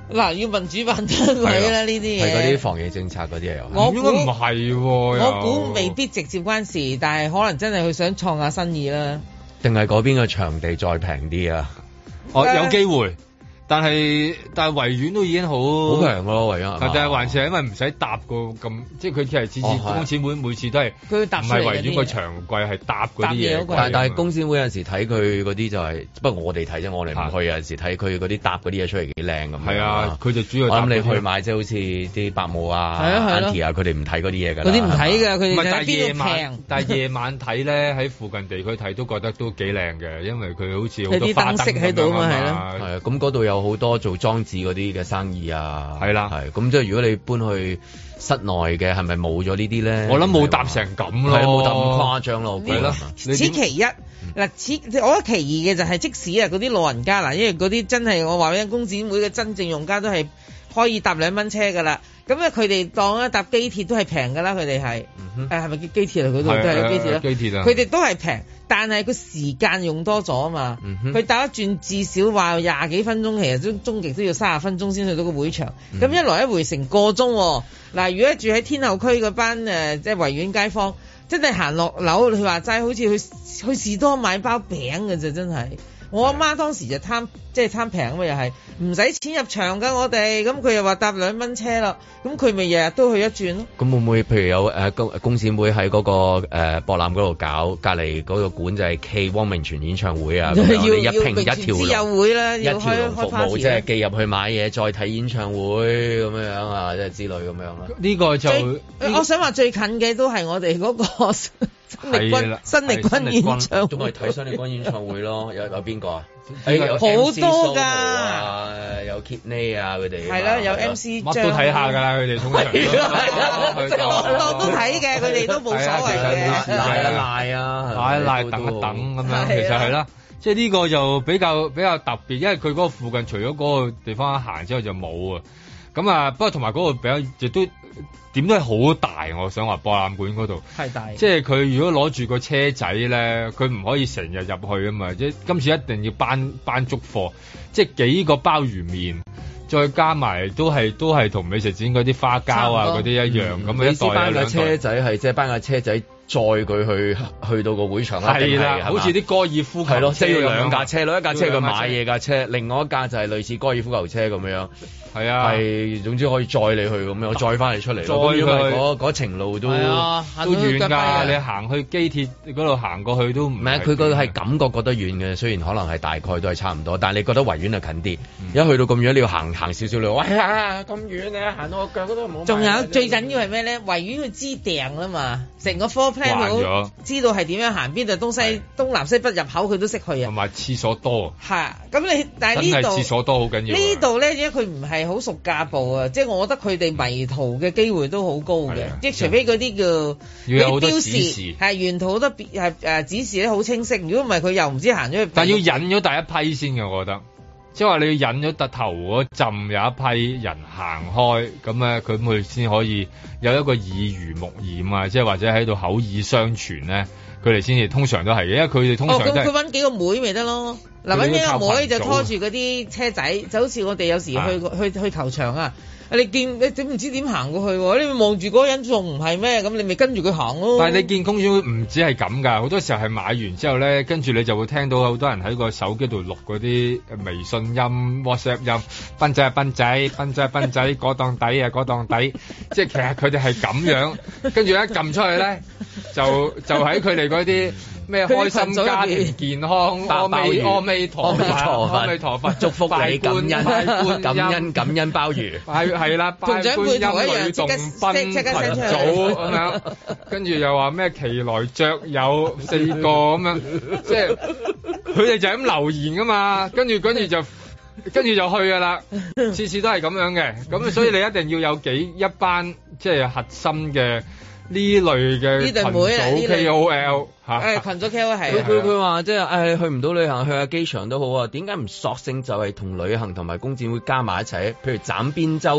嗱，要問主辦單位啦，呢啲嘢係嗰啲防疫政策嗰啲嘢。 我估唔係， 我估未必直接關事，但係可能真係佢想創下新意啦。 定係嗰邊嘅場地再平啲啊？ 哦，有機會。但係但係維園都已經好好平咯，維園。 但係還是係因為唔使搭個咁，即係佢其實次次工展會每次都係佢搭唔係維園個場櫃係搭嗰啲嘢。 但但係工展會有陣時睇佢嗰啲就係、是，不過我哋睇啫，我哋唔去有陣時睇佢嗰啲搭嗰啲嘢出嚟幾靚咁。係啊，佢就主要我諗你去買即係好似啲伯母啊、Auntie 啊，佢哋唔睇嗰啲嘢㗎。 嗰啲唔睇㗎，佢哋唔係，但係夜晚但係夜晚睇咧喺附近地區睇都覺得都幾靚嘅，因為佢好似好多花燈喺度啊嘛，係咯。 係啊，咁嗰度有好多做裝置嗰啲嘅生意啊， 係啦， 係咁即係如果你搬去室內嘅，係咪冇咗呢啲咧？ 我諗冇搭成咁咯， 冇搭咁誇張咯， 係咯。 此其一嗱，此我覺得其二嘅就係即使啊嗰啲老人家嗱，因為嗰啲真係我話俾你聽，工展會嘅真正用家都係可以搭兩蚊車㗎啦。咁咧佢哋當一搭機鐵都係平㗎啦，佢哋係誒係咪叫機鐵啊？嗰度都係機鐵啦， 機鐵啊， 佢哋都係平，但係個時間用多咗啊嘛。佢搭一轉至少話廿幾分鐘，其實終終極都要三十分鐘先去到個會場。咁、嗯、一來一回成個鐘。嗱，如果住喺天后區嗰班誒即係維園街坊，真係行落樓，佢話齋好似去去士多買包餅嘅啫，真係。我阿媽當時就貪即係貪平啊嘛，又係唔使錢入場㗎我哋，咁佢又話搭兩蚊車咯，咁佢咪日日都去一轉咯。 咁會唔會譬如有誒工工展會喺嗰、嗰個誒、呃、博覽嗰度搞，隔離嗰個館就係 K 汪明荃演唱會啊，要一拼一條龍， 有會啦， 一條龍服務即係寄入去買嘢，再睇演唱會咁樣樣啊，即係之類咁樣啦。 呢個就我想話最近嘅都係我哋嗰、嗰個。新力軍，新力軍演唱會， 咁咪睇新力軍演唱會咯。有有邊個啊？ 有好多㗎， 有 Kidney 啊，佢哋係啦，有 M C 張， 乜都睇下㗎啦，佢哋通常。 即係我都睇嘅，佢哋都冇所謂嘅。 賴一賴啊， 賴一賴，等一等咁樣，其實係啦。即係呢個就比較比較特別，因為佢嗰個附近除咗嗰個地方行之後就冇啊。咁啊，不過同埋嗰個比較亦都。點都係好大，我想話博覽館嗰度係大， 即係佢如果攞住個車仔咧，佢唔可以成日入去啊嘛，即係今次一定要搬搬足貨，即係幾個鮑魚麵，再加埋都係都係同美食展嗰啲花膠啊嗰啲一樣，咁、嗯、啊一袋啊兩袋。 車仔係即係搬架車仔載佢去去到個會場啦， 係啦，好似啲高爾夫球車，係咯， 即係要兩架車咯，一架車佢買嘢架車，另外一架就係類似高爾夫球車咁樣。係啊，係總之可以載你去咁樣，載翻你出嚟。載因為嗰嗰程路都、啊、 都遠㗎，你行去機鐵嗰度行過去都唔係。 佢個係感覺覺得遠嘅，雖然可能係大概都係差唔多，但係你覺得維園係近啲。嗯、一去到咁遠，你要行行少少路，喂呀咁遠你行到我腳嗰度冇。 仲有最緊要係咩咧？維園佢知訂啦嘛，成個 floor plan 好知道係點樣行，邊度東西東南西北入口佢都識去啊。 同埋廁所多。 係咁你但係呢度廁所多好緊要。 呢度咧，因為佢唔係好熟家步啊，即係我覺得佢哋迷途嘅機會都好高嘅，即係除非嗰啲叫要有好多指示， 係沿途好多別係誒指示咧好清晰。如果唔係佢又唔知行咗去。 但係要引咗第一批先嘅，我覺得，即係話你要引咗突頭嗰陣有一批人行開，咁咧佢佢先可以有一個耳濡目染啊，即係或者喺度口耳相傳咧，佢哋先至通常都係嘅，因為佢哋通常都係。哦，咁佢揾幾個妹咪得咯。嗱，揾幾個妹就拖住嗰啲車仔，就好似我哋有時去、啊、去去，去球場啊，你見你點唔知點行過去喎？你望住嗰個人仲唔係咩？咁你咪跟住佢行咯。 但係你見公園唔止係咁㗎，好多時候係買完之後咧，跟住你就會聽到好多人喺個手機度錄嗰啲微信音、WhatsApp 音，賓仔啊賓仔，賓仔啊賓仔，嗰檔底啊嗰檔底，即係其實佢哋係咁樣，跟住一撳出去咧，就就喺佢哋嗰啲。咩開心家庭健康，阿彌阿彌陀佛，阿彌陀佛祝福你，感恩感恩感恩鮑魚，係係啦，同長輩同一樣，即刻即刻聲組咁樣，跟住又話咩奇來雀有四個咁樣，即係佢哋就咁留言噶嘛，跟住跟住就跟住就去噶啦，次次都係咁樣嘅，咁所以你一定要有幾一班即係核心嘅。呢類嘅群組 K O L 嚇，誒群組 K O L 係佢佢佢話即係誒去唔到旅行去下機場都好啊，點解唔索性就係同旅行同埋工展會加埋一齊？譬如斬邊洲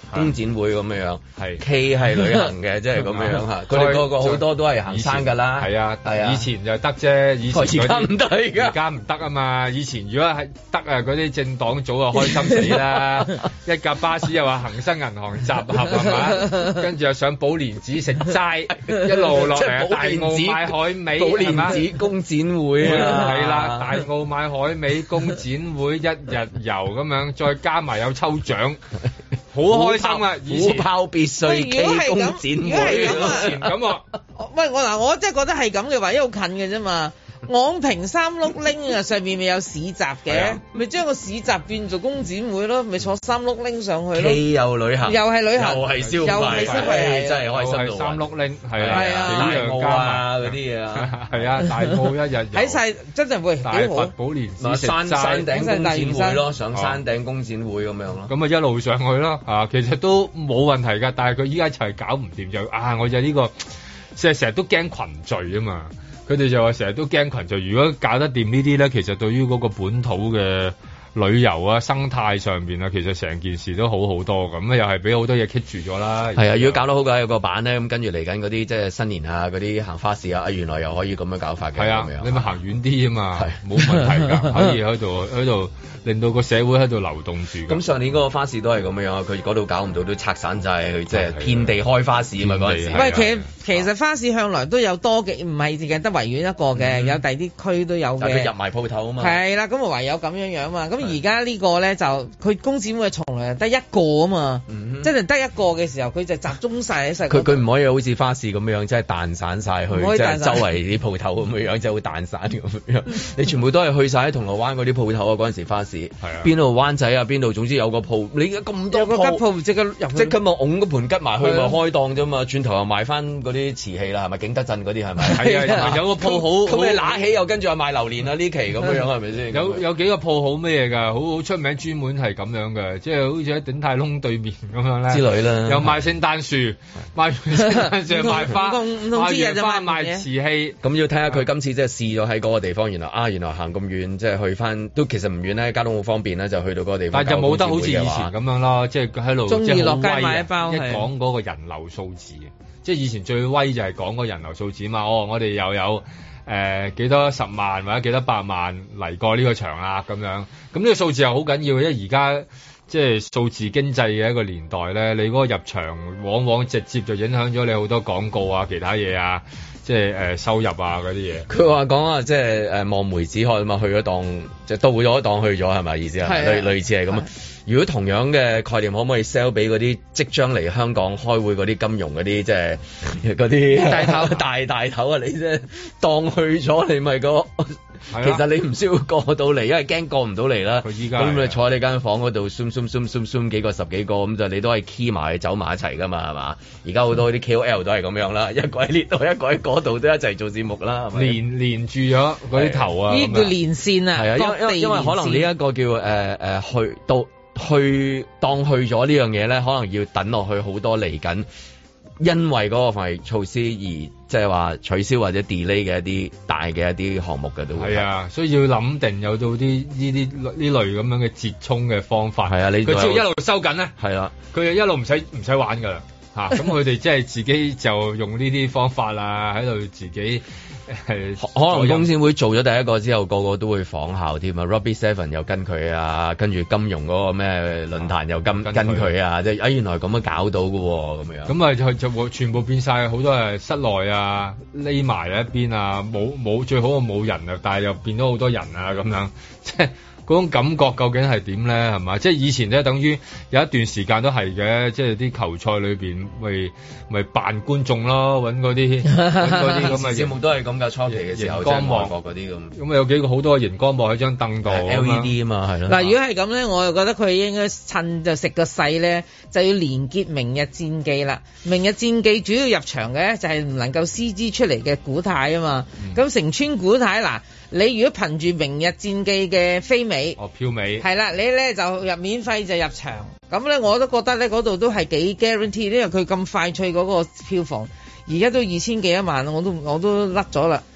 工展會咁樣樣，係 K 係旅行嘅，即係咁樣樣嚇。佢哋個個好多都係行山㗎啦。係啊，係啊。以前就得啫，以前而家唔得，而家唔得啊嘛。以前如果係得啊，嗰啲政黨早就開心死啦。一架巴士又話恒生銀行集合係嘛，跟住又上寶蓮寺食齋，一路落嚟大澳買海味，寶蓮寺工展會啊，係啦，大澳買海味工展會一日遊咁樣，再加埋有抽獎，好開心啊！虎豹別墅暨工展會，以前咁啊， 喂我嗱，我真係覺得係咁嘅話，因為好近嘅啫嘛。昂坪三碌拎啊，上面咪有市集嘅，咪將個市集變做工展會咯，咪坐三碌拎上去咯。既有旅行，又係旅行，又係消費，又係消費，真係開心到。三碌拎係啊，大澳啊嗰啲嘢啊，係啊，大澳一日睇晒真係會幾好。寶蓮寺食山山頂工展會咯，上山頂工展會咁樣咯。咁啊一路上去咯，啊其實都冇問題㗎，但係佢依家就係搞唔掂就啊，我就呢個即係成日都驚群聚啊嘛。佢哋就話成日都驚群聚，如果搞得掂呢啲咧，其實對於嗰個本土嘅旅遊啊、生態上邊啊，其實成件事都好好多咁啊，又係俾好多嘢棘住咗啦。係啊，如果搞得好嘅有個版咧，咁跟住嚟緊嗰啲即係新年啊、嗰啲行花市啊，原來又可以咁樣搞法嘅。係啊，你咪行遠啲啊嘛，冇問題㗎，可以喺度喺度令到個社會喺度流動住。咁上年嗰個花市都係咁樣，佢嗰度搞唔到都拆散就係去即係遍地開花市啊嘛嗰陣時。喂，其實其實花市向來都有多嘅，唔係淨係得維園一個嘅，有第啲區都有嘅。但係佢入埋鋪頭啊嘛。係啦，咁啊唯有咁樣樣嘛，咁。而家呢個咧就佢工展會從來得一個啊嘛，嗯、即係得一個嘅時候，佢就集中晒喺晒。佢佢唔可以好似花市咁樣，即係彈散晒去，即係周圍啲鋪頭咁樣，即係會彈散咁樣。你全部都係去晒喺銅鑼灣嗰啲鋪頭啊！嗰陣時花市，邊度灣仔啊？邊度？總之有個鋪，你而家咁多鋪，有個吉鋪即刻入，即刻咪拱嗰盤吉埋去，咪開檔啫嘛。轉頭又賣翻嗰啲瓷器啦，係咪景德鎮嗰啲係咪？係啊，有個鋪好，咁你揦起又跟住又賣榴蓮啊！呢期咁樣係咪先？有有幾個鋪好咩㗎？好好出名，專門係咁樣嘅，即係好似喺鼎泰豐對面咁樣咧之類啦。又賣聖誕樹，賣聖誕樹賣花，賣完花賣瓷器。咁要睇下佢今次即係試咗喺嗰個地方，原來啊，原來行咁遠，即係去翻都其實唔遠咧，交通好方便咧，就去到嗰個地方。但就冇得好似以前咁樣咯，即係喺度中意落街買一包。一講嗰個人流數字，即係以前最威就係講個人流數字嘛。哦，我哋又有。誒、呃、幾多十萬或者幾多百萬嚟過呢個場啊咁樣，咁呢個數字又好緊要，因為而家即係數字經濟嘅一個年代咧，你嗰個入場往往直接就影響咗你好多廣告啊、其他嘢啊，即係誒、呃、收入啊嗰啲嘢。佢話講啊，即係誒望梅止渴啊嘛，去咗檔即係到咗檔去咗係咪意思啊？類類似係咁啊。如果同樣嘅概念，可唔可以 sell 俾嗰啲即將嚟香港開會嗰啲金融嗰啲，即係嗰啲大頭大大頭啊！你即係當去咗，你咪個其實你唔需要過到嚟，因為驚過唔到嚟啦。佢依家咁你坐喺你間房嗰度，zoom zoom zoom zoom zoom 幾個十幾個咁就你都係 key 埋走埋一齊噶嘛，係嘛？而家好多啲 K O L 都係咁樣啦，一個喺呢度，一個喺嗰度都一齊做節目啦，係咪？連連住咗嗰啲頭啊！呢叫連線啊！係啊，因為因為可能呢一個叫誒誒、呃、去到。去當去咗呢樣嘢咧，可能要等落去好多嚟緊，因為嗰個防疫措施而即係話取消或者 delay 嘅一啲大嘅一啲項目嘅都會係啊，所以要諗定有到啲呢啲呢類咁樣嘅折衷嘅方法。係啊，你佢只要一路收緊咧，係啊，佢一路唔使唔使玩噶啦嚇，咁佢哋即係自己就用呢啲方法啊，喺度自己。係可能工展會做咗第一個之後，個個都會仿效添啊 Robbie Seven 又跟佢啊，跟住金融嗰個咩論壇又跟跟佢啊，即係啊原來咁樣搞到㗎喎，咁樣咁啊就就會全部變晒，好多係室內啊，匿埋喺一邊啊，冇冇最好嘅冇人啊，但係又變咗好多人啊咁樣，即係。嗰種感覺究竟係點咧？係嘛？即係以前咧，等於有一段時間都係嘅，即係啲球賽裏邊咪咪扮觀眾咯，揾嗰啲揾嗰啲咁嘅節目都係咁㗎。初期嘅時候，熒光幕嗰啲咁，咁啊有幾個好多熒光幕喺張凳度 ，L E D 啊嘛，係咯。嗱，如果係咁咧，我就覺得佢應該趁就食個勢咧，就要連結明日戰記啦。明日戰記主要入場嘅就係唔能夠 C G 出嚟嘅古太啊嘛。咁城村古太嗱。你如果憑住明日戰記嘅飛尾，哦票尾，係啦，你咧就入免費就入場，咁咧我都覺得咧嗰度都係幾 guarantee，因為佢咁快脆嗰個票房，而家都二千幾一萬，我都我都甩咗啦。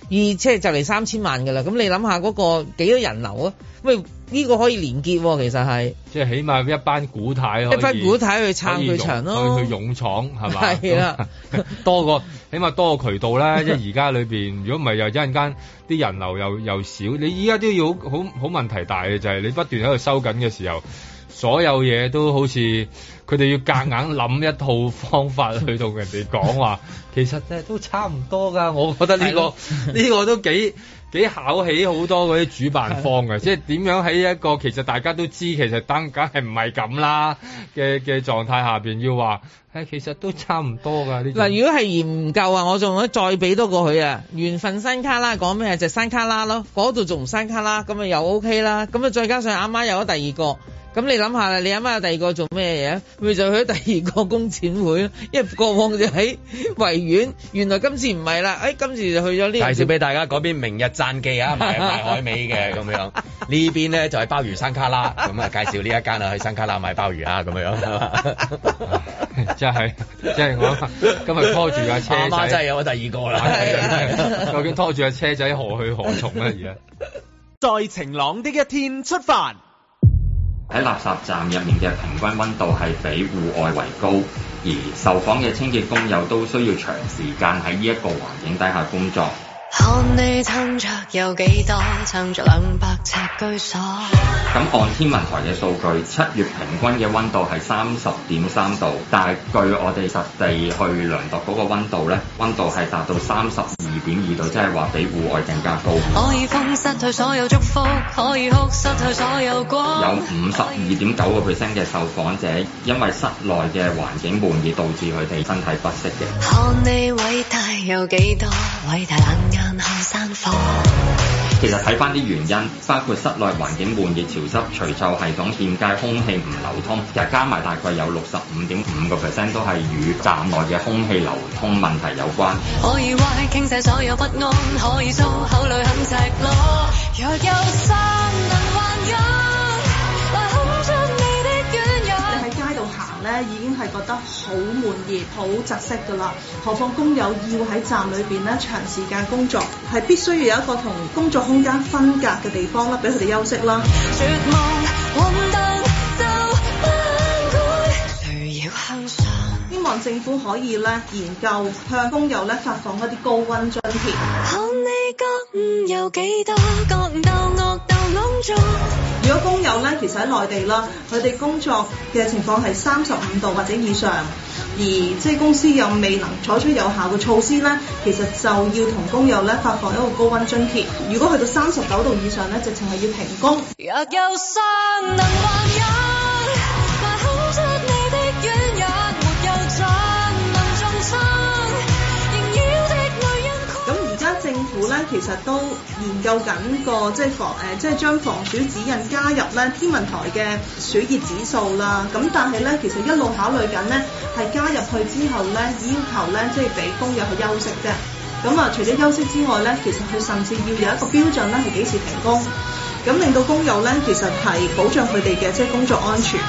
即係就嚟三千萬㗎啦。咁你諗下嗰個幾多人流啊？喂，呢、呢個可以連結喎，其實係即係起碼一班股太一班股太去撐佢場咯， 去去勇闖係嘛？ 係啦， 多個起碼多個渠道啦。即係而家裏邊，如果唔係又一陣間啲人流又又少，你依家都要好好好問題大嘅就係、是、你不斷喺度收緊嘅時候，所有嘢都好似佢哋要夾硬諗一套方法去同人哋講話，其實咧都差唔多㗎。我覺得呢、呢個呢個都幾幾考起好多嗰啲主辦方嘅，即係點樣喺一個其實大家都知其實當梗係唔係咁啦嘅嘅狀態下邊要話，誒其實都差唔多㗎。呢嗱，如果係嫌唔夠啊，我仲可以再俾多個佢啊，緣分山卡拉講咩就係、山卡拉咯，嗰度仲唔山卡拉，咁咪又 OK 啦。咁啊再加上啱啱有咗第二個。咁你諗下啦，你啱啱有第二個做咩嘢？咪就去咗第二個工展會咯。因為過往就喺維園，原來今次唔係啦，誒、哎、今次就去咗呢。 介紹俾大家嗰邊明日讚記啊，賣賣海味嘅咁樣。呢邊咧就係鮑魚山卡拉，咁啊介紹呢一間啊去山卡拉買鮑魚啊咁樣。 真係，即係我今日拖住架車仔， 媽媽真係有咗第二個啦。 究竟拖住架車仔何去何從咧？而家在晴朗的一天出發。 喺垃圾站入面嘅平均溫度係比戶外為高，而受訪嘅清潔工友都需要長時間喺呢一個環境底下工作。 看你撐着有幾多，撐着兩百尺居所。 咁按天文台嘅數據，七月平均嘅溫度係三十點三度，但係據我哋實地去量度嗰個溫度咧，溫度係達到三十二點二度，即係話比戶外更加高。 可以風失去所有祝福，可以哭失去所有光。 有五十二點九個 percent 嘅受訪者因為室內嘅環境悶熱導致佢哋身體不適嘅。 看你偉大有幾多，偉大冷眼看山火。 其實睇翻啲原因，包括室內環境悶熱潮濕、除臭系統欠佳、空氣唔流通，其實加埋大概有六十五點五個 percent 都係與站內嘅空氣流通問題有關。 可以歪傾瀉所有不安，可以粗口裏很赤裸。若有山能還有，來看出你的軟弱。 你喺街度行咧，已經係覺得好悶熱、好窒息㗎啦。何況工友要喺站裏邊咧長時間工作，係必須要有一個同工作空間分隔嘅地方啦，俾佢哋休息啦。絕望混沌就不會誰要向上。希望政府可以咧研究向工友咧發放一啲高溫津貼。看你覺悟有幾多，覺悟鬥惡鬥朗作。如果工友咧其實喺內地啦，佢哋工作嘅情況係三十五度或者以上，而即係公司又未能採取有效嘅措施咧，其實就要同工友咧發放一個高溫津貼。如果去到三十九度以上咧，直情係要停工。若有山能還有，來看出你的軟弱，沒有盡能重生，縈繞的女人。咁而家政府咧其實都研究緊個即係防誒，即係將防暑指引加入咧天文台嘅暑熱指數啦。咁但係咧，其實一路考慮緊咧，係加入去之後咧，要求咧即係俾工友去休息啫。咁啊，除咗休息之外咧，其實佢甚至要有一個標準咧，係幾時停工，咁令到工友咧其實係保障佢哋嘅即係工作安全。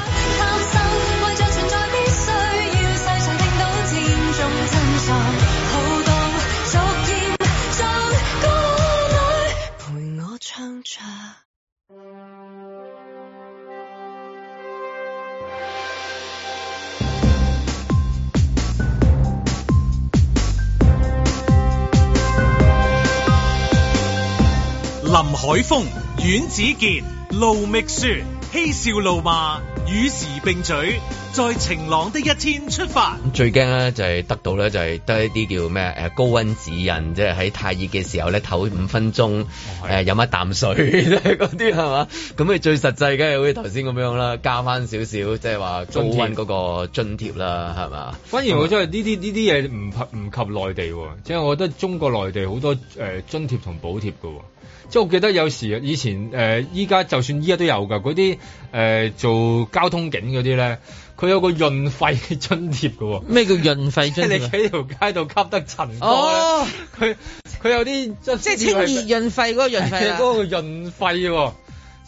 林海峰、阮子健、盧覓雪，嬉笑怒罵，與時並舉，在晴朗的一天出發。 最驚咧就係得到咧就係得一啲叫咩誒高溫指引，即係喺太熱嘅時候咧唞五分鐘，誒飲一啖水嗰啲係嘛？咁你最實際嘅好似頭先咁樣啦，加翻少少即係話高溫嗰個津貼啦，係嘛？ 反而我真係呢啲呢啲嘢唔唔及內地喎，即係我覺得中國內地好多誒津貼同補貼㗎喎。即係我記得有時以前誒，依、呃、家就算依家都有㗎，嗰啲誒做交通警嗰啲咧，佢有個潤肺津貼㗎喎。 咩叫潤肺津貼？即係你喺條街度吸得塵多咧，佢佢有啲即係清熱潤肺嗰個潤肺啦。 嗰個潤肺喎。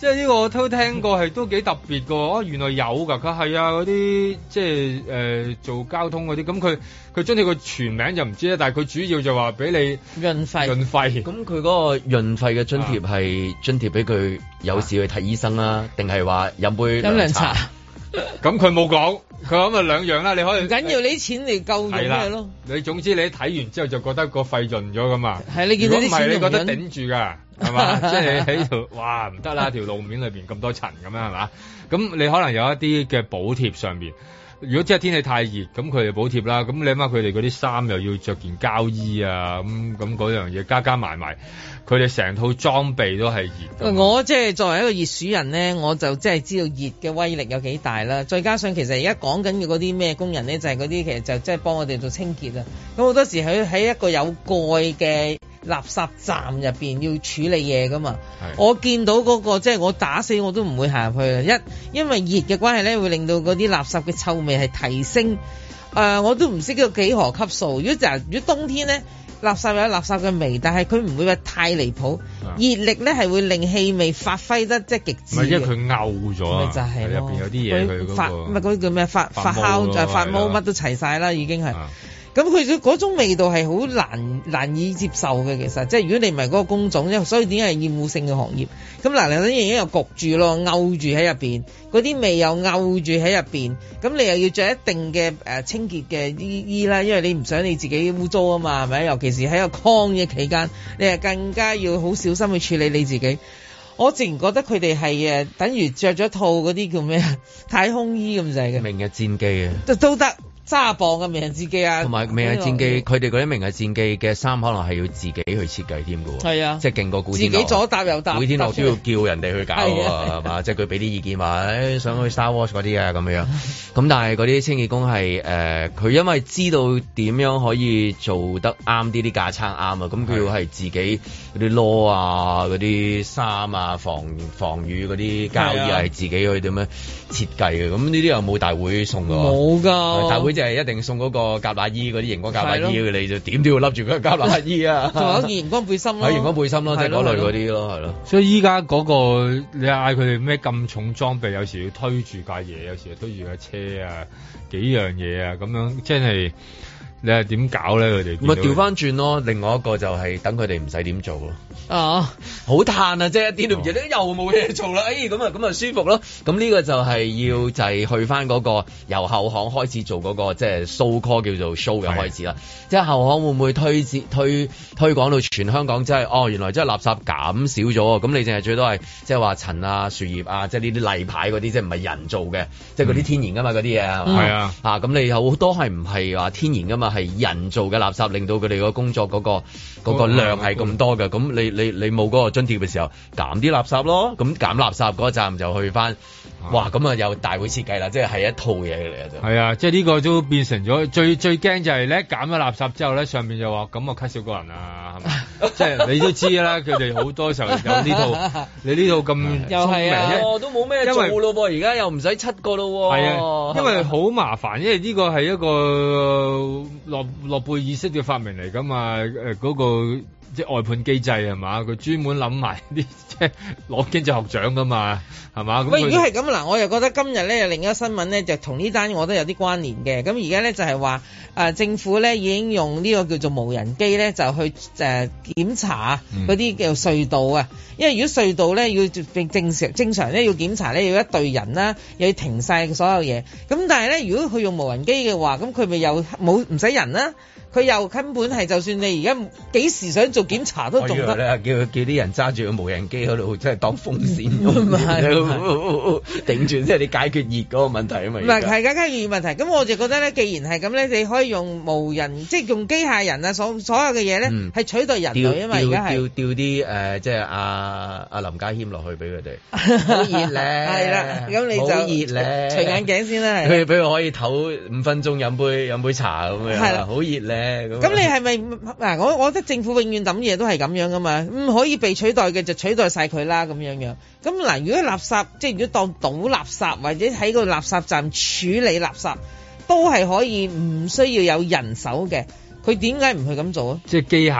即係呢個我都聽過係都幾特別㗎。哦，原來有㗎，佢係啊嗰啲即係誒、呃、做交通嗰啲，咁佢佢津貼個全名就唔知啦，但係佢主要就話俾你潤費潤費。 咁佢嗰個潤費嘅津貼係津貼俾佢有時去睇醫生啦，定係話飲杯飲涼茶？ 咁佢冇講，佢咁啊兩樣啦，你可以唔緊要，你啲錢嚟夠用咩咯？ 你總之你睇完之後就覺得個肺潤咗㗎嘛。係你見到啲錢唔係你覺得頂住㗎，係嘛？即係你喺度，哇唔得啦！條路面裏邊咁多塵咁樣係嘛？咁你可能有一啲嘅補貼上邊。如果即係天氣太熱，咁佢哋補貼啦。咁你諗下佢哋嗰啲衫又要着件膠衣啊，咁咁嗰樣嘢加加埋埋，佢哋成套裝備都係熱。 我即係作為一個熱暑人咧，我就即係知道熱嘅威力有幾大啦。再加上其實而家講緊嘅嗰啲咩工人咧，就係嗰啲其實就即係幫我哋做清潔啊。咁好多時喺喺一個有蓋嘅垃圾站入邊要處理嘢噶嘛，我見到嗰、嗰個即係我打死我都唔會行入去啊！一因為熱嘅關係咧，會令到嗰啲垃圾嘅臭味係提升，誒、呃、我都唔識個幾何級數。如果就如果冬天咧，垃圾有垃圾嘅味，但係佢唔會話太離譜，熱力咧係會令氣味發揮得即係極致。唔係因為佢漚咗啊， 就係入邊有啲嘢佢嗰個發唔係嗰啲叫咩發發酵就發毛乜都齊晒啦，已經係。咁佢嗰種味道係好難難以接受嘅，其實即係如果你唔係嗰個工種，因為所以點解係厭惡性嘅行業？咁嗱，你已經又焗住咯，漚住喺入邊，嗰啲味又漚住喺入邊，咁你又要着一定嘅誒清潔嘅衣衣啦，因為你唔想你自己污糟啊嘛，係咪？尤其是喺個抗疫期間，你係更加要好小心去處理你自己。我自然覺得佢哋係誒，等於着咗套嗰啲叫咩啊太空衣咁滯嘅明日戰機啊， 都都得。揸磅嘅明日戰機啊， 同埋明日戰機，佢哋嗰啲明日戰機嘅衫可能係要自己去設計添㗎喎。係啊，即係勁過古天樂， 自己左搭右搭， 古天樂都要叫人哋去搞啊，係嘛？即係佢俾啲意見話，誒、哎、想去 Star Wars 嗰啲啊咁樣。咁但係嗰啲清潔工係誒，佢、呃、因為知道點樣可以做得啱啲啲架撐啱啊，咁佢要係自己嗰啲攞啊、嗰啲衫啊、防防雨嗰啲膠衣係自己去點樣設計嘅。咁呢啲又冇大會送㗎？ 冇㗎， 大會。即係一定送嗰個夾乸衣，嗰啲熒光夾乸衣，你就點都要笠住嗰個夾乸衣啊！ 仲有件熒光背心咯， 係熒光背心咯，即係嗰類嗰啲咯，係咯。 所以依家嗰個你嗌佢哋咩咁重裝備，有時要推住架嘢，有時要推住架車啊，幾樣嘢啊，咁樣真係你係點搞咧？佢哋咪調翻轉咯，另外一個就係等佢哋唔使點做咯。 哦， 好嘆啊！即係一啲都唔知，又冇嘢做啦。哎，咁啊，咁啊舒服咯。咁呢個就係要就係去翻嗰個由後巷開始做嗰個即係 so call 叫做 show 嘅開始啦。即係後巷會唔會推推推廣到全香港？即係哦，原來即係垃圾減少咗。咁你淨係最多係即係話塵啊、樹葉啊，即係呢啲例牌嗰啲，即係唔係人做嘅，即係嗰啲天然噶嘛嗰啲嘢係嘛？係啊，啊咁你有好多係唔係話天然噶嘛？係人做嘅垃圾，令到佢哋個工作嗰個嗰個量係咁多嘅。咁你你你冇嗰個津貼嘅時候，減啲垃圾咯。咁減垃圾嗰站就去翻，哇！咁啊有大會設計啦，即係係一套嘢嚟嘅就。 係啊，即係呢個都變成咗最最驚就係咧減咗垃圾之後咧，上面就話咁我 cut 少個人啊，係咪？即係你都知啦，佢哋好多時候有呢套，你呢套咁又係啊， 都冇咩做咯噃，而家又唔使七個咯。 係啊，因為好麻煩，因為呢個係一個諾諾貝爾式嘅發明嚟噶嘛，誒嗰個。即係外判機制係嘛？佢專門諗埋啲即係攞經濟學獎噶嘛，係嘛？ 喂，如果係咁嗱，我又覺得今日咧有另一個新聞咧，就同呢單我都有啲關聯嘅。咁而家咧就係話誒政府咧已經用呢個叫做無人機咧，就去誒、呃、檢查嗰啲叫隧道啊。嗯、因為如果隧道咧要正常正常咧要檢查咧要一隊人啦，又要停晒所有嘢。咁但係咧，如果佢用無人機嘅話，咁佢咪又冇唔使人啦？佢又根本係，就算你而家幾時想做檢查都仲得。 叫叫啲人揸住個無人機喺度，即係當風扇咁，頂住即係你解決熱嗰個問題啊嘛。唔係， 係解決熱問題。咁我就覺得咧，既然係咁咧，你可以用無人，即係用機械人啊，所所有嘅嘢咧，係、嗯、取代人類啊嘛。而家係調調啲誒，即係阿阿林家謙落去俾佢哋。好熱咧，係啦，咁你就好熱咧，除眼鏡先啦。 佢俾佢可以唞五分鐘，飲杯飲杯茶咁樣。係啦，好熱咧。 咁你係咪嗱？我我覺得政府永遠抌嘢都係咁樣噶嘛，唔可以被取代嘅就取代晒佢啦咁樣樣。咁嗱，如果垃圾即係如果當倒垃圾或者喺個垃圾站處理垃圾，都係可以唔需要有人手嘅，佢點解唔去咁做啊？ 即係機械人。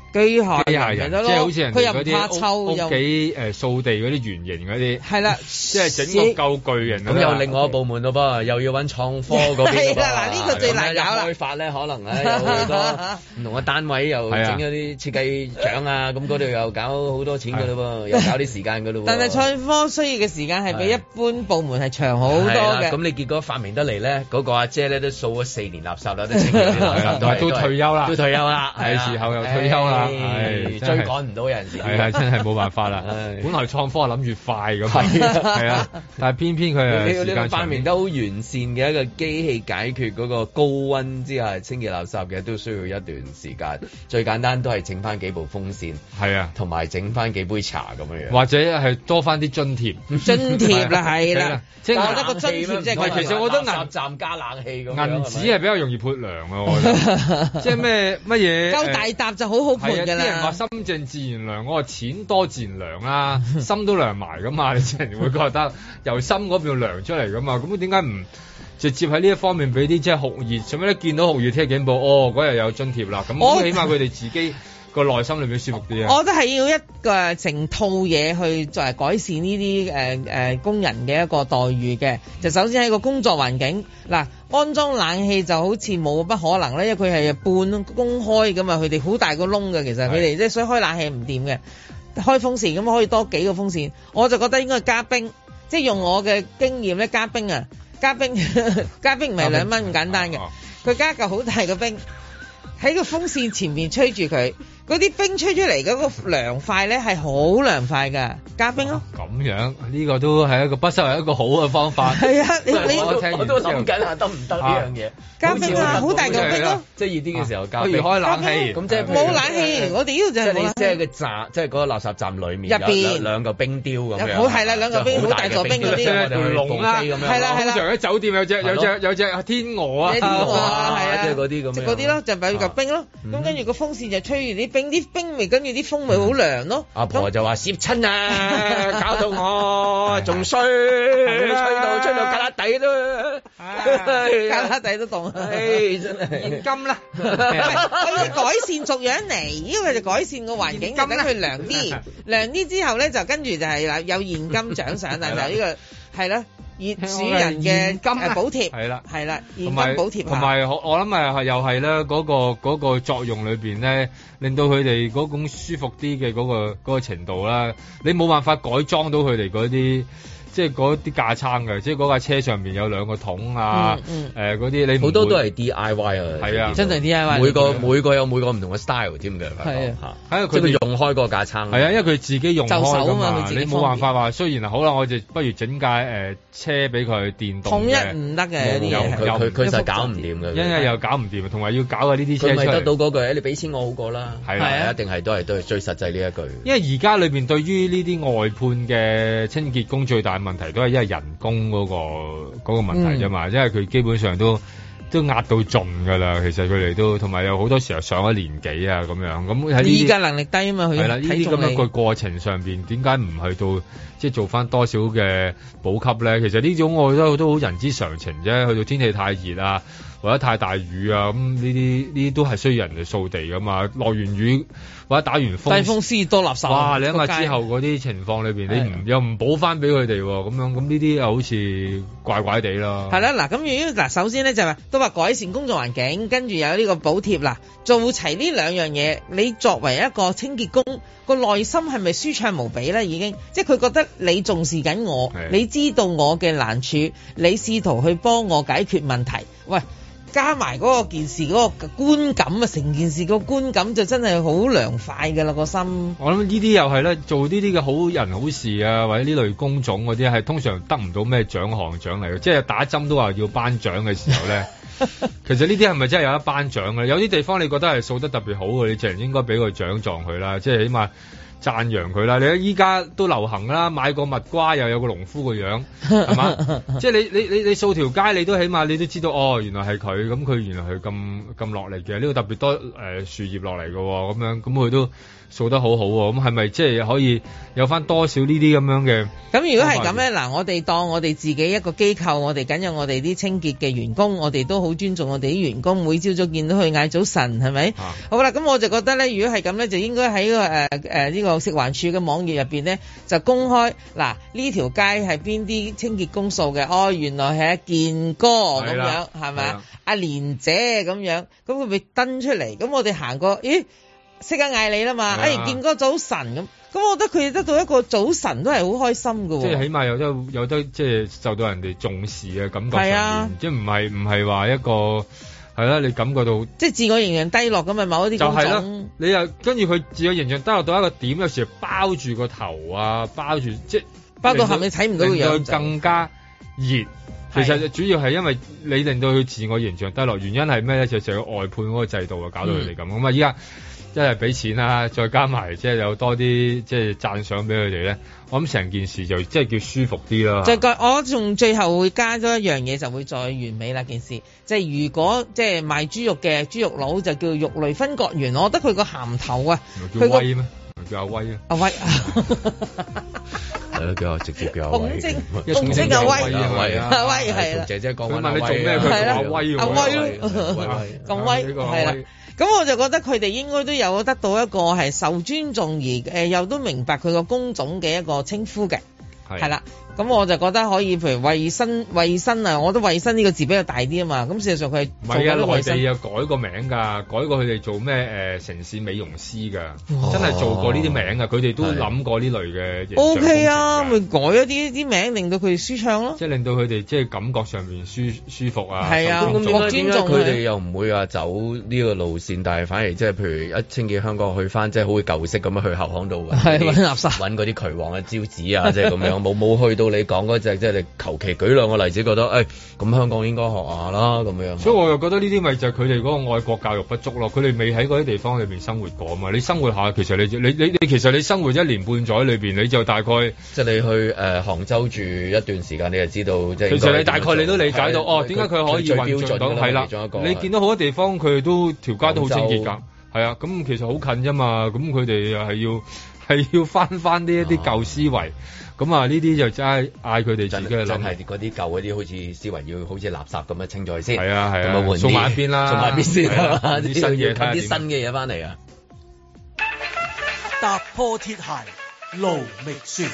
機械機械人，即係好似人哋嗰啲屋屋企誒掃地嗰啲圓形嗰啲， 係啦， 即係整個夠巨人咁又另外一個部門咯噃，又要揾創科嗰邊。係啦，嗱呢個最難搞啦。開發咧可能咧有好多唔同嘅單位又整咗啲設計獎啊，咁嗰度又搞好多錢㗎咯噃，又搞啲時間㗎咯喎。但係創科需要嘅時間係比一般部門係長好多嘅。咁你結果發明得嚟咧，嗰個阿姐咧都掃咗四年垃圾啦，都清潔啲垃圾， 都退休啦， 都退休啦， 係時候又退休啦。 係追趕唔到有陣時， 係啊，真係冇辦法啦。本來創科係諗住快咁，係啊，但係偏偏佢係時間長。發明得好完善嘅一個機器解決嗰個高溫之下清潔垃圾嘅，都需要一段時間。最簡單都係整翻幾部風扇，係啊，同埋整翻幾杯茶咁樣樣，或者係多翻啲津貼。津貼啦，係啦，即係我覺得個津貼即係其實我覺得垃圾站加冷氣咁樣，銀紙係比較容易潑涼啊，我覺得。即係咩乜嘢？夠大沓就好好潑。啲人話心靜自然涼，我話錢多自然涼啦，心都涼埋噶嘛，你自然會覺得由心嗰邊涼出嚟噶嘛，咁點解唔直接喺呢一方面俾啲即係酷熱？做咩咧？見到酷熱聽警報，哦嗰日有津貼啦，咁起碼佢哋自己個內心裏邊舒服啲啊！我覺得係要一個成套嘢去作為改善呢啲誒誒工人嘅一個待遇嘅。就首先喺個工作環境嗱，安裝冷氣就好似冇不可能咧，因為佢係半公開㗎嘛，佢哋好大個窿嘅，其實佢哋即係所以開冷氣唔掂嘅，開風扇咁可以多幾個風扇。我就覺得應該加冰，即係用我嘅經驗咧，加冰啊，加冰加冰唔係兩蚊咁簡單嘅，佢加嚿好大個冰喺個風扇前面吹住佢。嗰啲冰吹出嚟嗰個涼快咧係好涼快㗎，加冰咯。咁樣呢個都係一個不失為一個好嘅方法。係啊，你你我都諗緊下得唔得呢樣嘢？加冰啊，好大嚿冰咯。即係熱啲嘅時候加冰。不如開冷氣。咁即係冇冷氣，我哋呢度就係冇。即係個站，即係嗰個垃圾站裡面入邊兩個冰雕咁樣。好係啦，兩個冰好大座冰嗰啲。龍啦，係啦係啦。通常喺酒店有隻有隻有隻天鵝啊。天鵝啊，係啊。即係嗰啲咁樣。即係嗰啲咯，就擺嚿冰咯。咁跟住個風扇就吹住啲冰，啲冰味跟住啲風味好涼咯。阿婆就話攝親啊，搞到我仲衰，吹到吹到旮旯底都，旮旯底都凍。唉，真係現金啦，可以改善逐樣嚟，呢個就改善個環境，等佢涼啲，涼啲之後咧就跟住就係啦，有現金獎賞啦，就呢個係啦。熱主人嘅金補貼係啦，係啦，現金補貼同埋我我諗係又係咧嗰個嗰個作用裏邊咧，令到佢哋嗰種舒服啲嘅嗰個嗰個程度啦，你冇辦法改裝到佢哋嗰啲。即係嗰啲架撐嘅，即係嗰架車上面有兩個桶啊，誒嗰啲你好多都係 D I Y 啊，係啊，真係 D I Y。每個每個有每個唔同嘅 style 添嘅，係啊，喺佢哋用開個架撐，係啊，因為佢自己用開㗎嘛，你冇辦法話，雖然係好啦，我就不如整架誒車俾佢電動嘅，統一唔得嘅啲嘢，佢佢實搞唔掂嘅，因為又搞唔掂，同埋要搞嘅呢啲車出嚟，佢咪得到嗰句，你俾錢我好過啦，係啊，一定係都係都係最實際呢一句。因為而家裏邊對於呢啲外判嘅清潔工最大問題都係因為人工嗰個嗰個問題啫嘛，因為佢基本上都都壓到盡㗎啦。其實佢哋都同埋有好多時候上咗年紀啊咁樣，咁喺依家能力低啊嘛，佢係啦，呢啲咁樣個過程上邊點解唔去到即係做翻多少嘅補給咧？其實呢種我覺得都好人之常情啫。去到天氣太熱啊，或者太大雨啊，咁呢啲呢啲都係需要人嚟掃地噶嘛。落完雨或者打完風，大風濕多垃圾。哇！你諗下之後嗰啲情況裏邊，你唔又唔補翻俾佢哋咁樣，咁呢啲又好似怪怪地咯。係啦，嗱，咁如果嗱，首先咧就係都話改善工作環境，跟住有呢個補貼啦，做齊呢兩樣嘢，你作為一個清潔工，個內心係咪舒暢無比咧？已經，即係佢覺得你重視緊我，你知道我嘅難處，你試圖去幫我解決問題。喂！加埋嗰個件事嗰個觀感啊，成件事個觀感就真係好涼快㗎啦個心。我諗呢啲又係咧，做呢啲嘅好人好事啊，或者呢類工種嗰啲係通常得唔到咩獎項獎勵嘅，即係打針都話要頒獎嘅時候咧。其實呢啲係咪真係有得頒獎嘅？有啲地方你覺得係掃得特別好嘅，你自然應該俾個獎狀佢啦，即係起碼讚揚佢啦。你依家都流行啦，買個蜜瓜又有個農夫個樣，係嘛？即係你你你你掃條街，你都起碼你都知道哦，原來係佢，咁佢原來係咁咁落嚟嘅，呢度特別多誒、呃、樹葉落嚟嘅，咁樣咁佢都掃得好好喎。咁係咪即係可以有翻多少呢啲咁樣嘅？ 咁如果係咁咧，嗱，我哋當我哋自己一個機構，我哋緊有我哋啲清潔嘅員工，我哋都好尊重我哋啲員工，每朝早見到佢嗌早晨，係咪？啊、好啦，咁我就覺得咧，如果係咁咧，就應該喺個誒誒呢個食環署嘅網頁入邊咧，就公開嗱呢條街係邊啲清潔公數嘅，哦，原來係阿健哥咁樣，係咪啊？阿蓮姐咁樣，咁佢咪登出嚟，咁我哋行過，咦？識得嗌你啦嘛，哎，健哥早晨咁，咁我覺得佢哋得到一個早晨都係好開心㗎喎。即係起碼有得有得即係受到人哋重視嘅感覺上面， 啊、 即係唔係唔係話一個係啦，你感覺到即係自我形象低落咁啊，某一啲工種。你又跟住佢自我形象低落到一個點，有時包住個頭啊，包住即係包到後你睇唔到個樣， 令到更加熱。其實主要係因為你令到佢自我形象低落，原因係咩咧？就成個外判嗰個制度啊，搞到佢哋咁。咁啊，依家。即係俾錢啦，再加埋即係有多啲即係讚賞俾佢哋咧，我諗成件事就即係叫舒服啲啦。 就我仲最後會加多一樣嘢，就會再完美啦件事。即係如果即係賣豬肉嘅豬肉佬就叫肉類分割員，我覺得佢個銜頭啊， 佢叫威咩？叫阿威啊？ 阿威係咯，叫我直接叫阿威。 鳳精，鳳精阿威，阿威啊， 阿威係啦。 姐姐講緊問你做咩？佢叫阿威， 阿威咁威係啦。咁我就覺得佢哋應該都有得到一個係受尊重而誒又都明白佢個工種嘅一個稱呼嘅，係啦。咁我就覺得可以，譬如衛生衛生啊，我覺得衛生呢個字比較大啲啊嘛。咁事實上佢係唔係啊？內地又改個名㗎，改過佢哋做咩誒、呃、城市美容師㗎，哦、真係做過呢啲名㗎。佢哋都諗過呢類嘅。O K 啊，咪改一啲啲名，令到佢哋舒暢咯。 即係令到佢哋即係感覺上面舒舒服啊。 係啊，咁點解點解佢哋又唔會話走呢個路線，但係反而即係譬如一清潔香港去翻，即係好似舊式咁樣去後巷度揾垃圾， 揾嗰啲渠王嘅招紙啊，即係咁樣冇冇去到。你講嗰隻即係你求其舉兩個例子，覺得誒咁、哎、香港應該學下啦咁樣。 所以我又覺得呢啲咪就係佢哋嗰個愛國教育不足咯。佢哋未喺嗰啲地方裏邊生活過啊嘛。你生活下，其實你你你你其實你生活一年半載裏邊，你就大概即係你去誒、呃、杭州住一段時間，你就知道即係。其實你大概你都理解到哦，點解佢可以運作到係啦？你見到好多地方佢都條街都好清潔㗎，係啊。咁其實好近啫嘛。咁佢哋又係要係要翻翻呢一啲舊思維。啊咁啊！呢啲就真係嗌佢哋自己去諗， 真係嗰啲舊嗰啲好似思維要好似垃圾咁樣清咗先。 係啊係啊， 咁啊送埋一邊啦， 送埋一邊先啦，啲新嘢睇啲新嘅嘢翻嚟啊！ 踏破鐵鞋路未雪。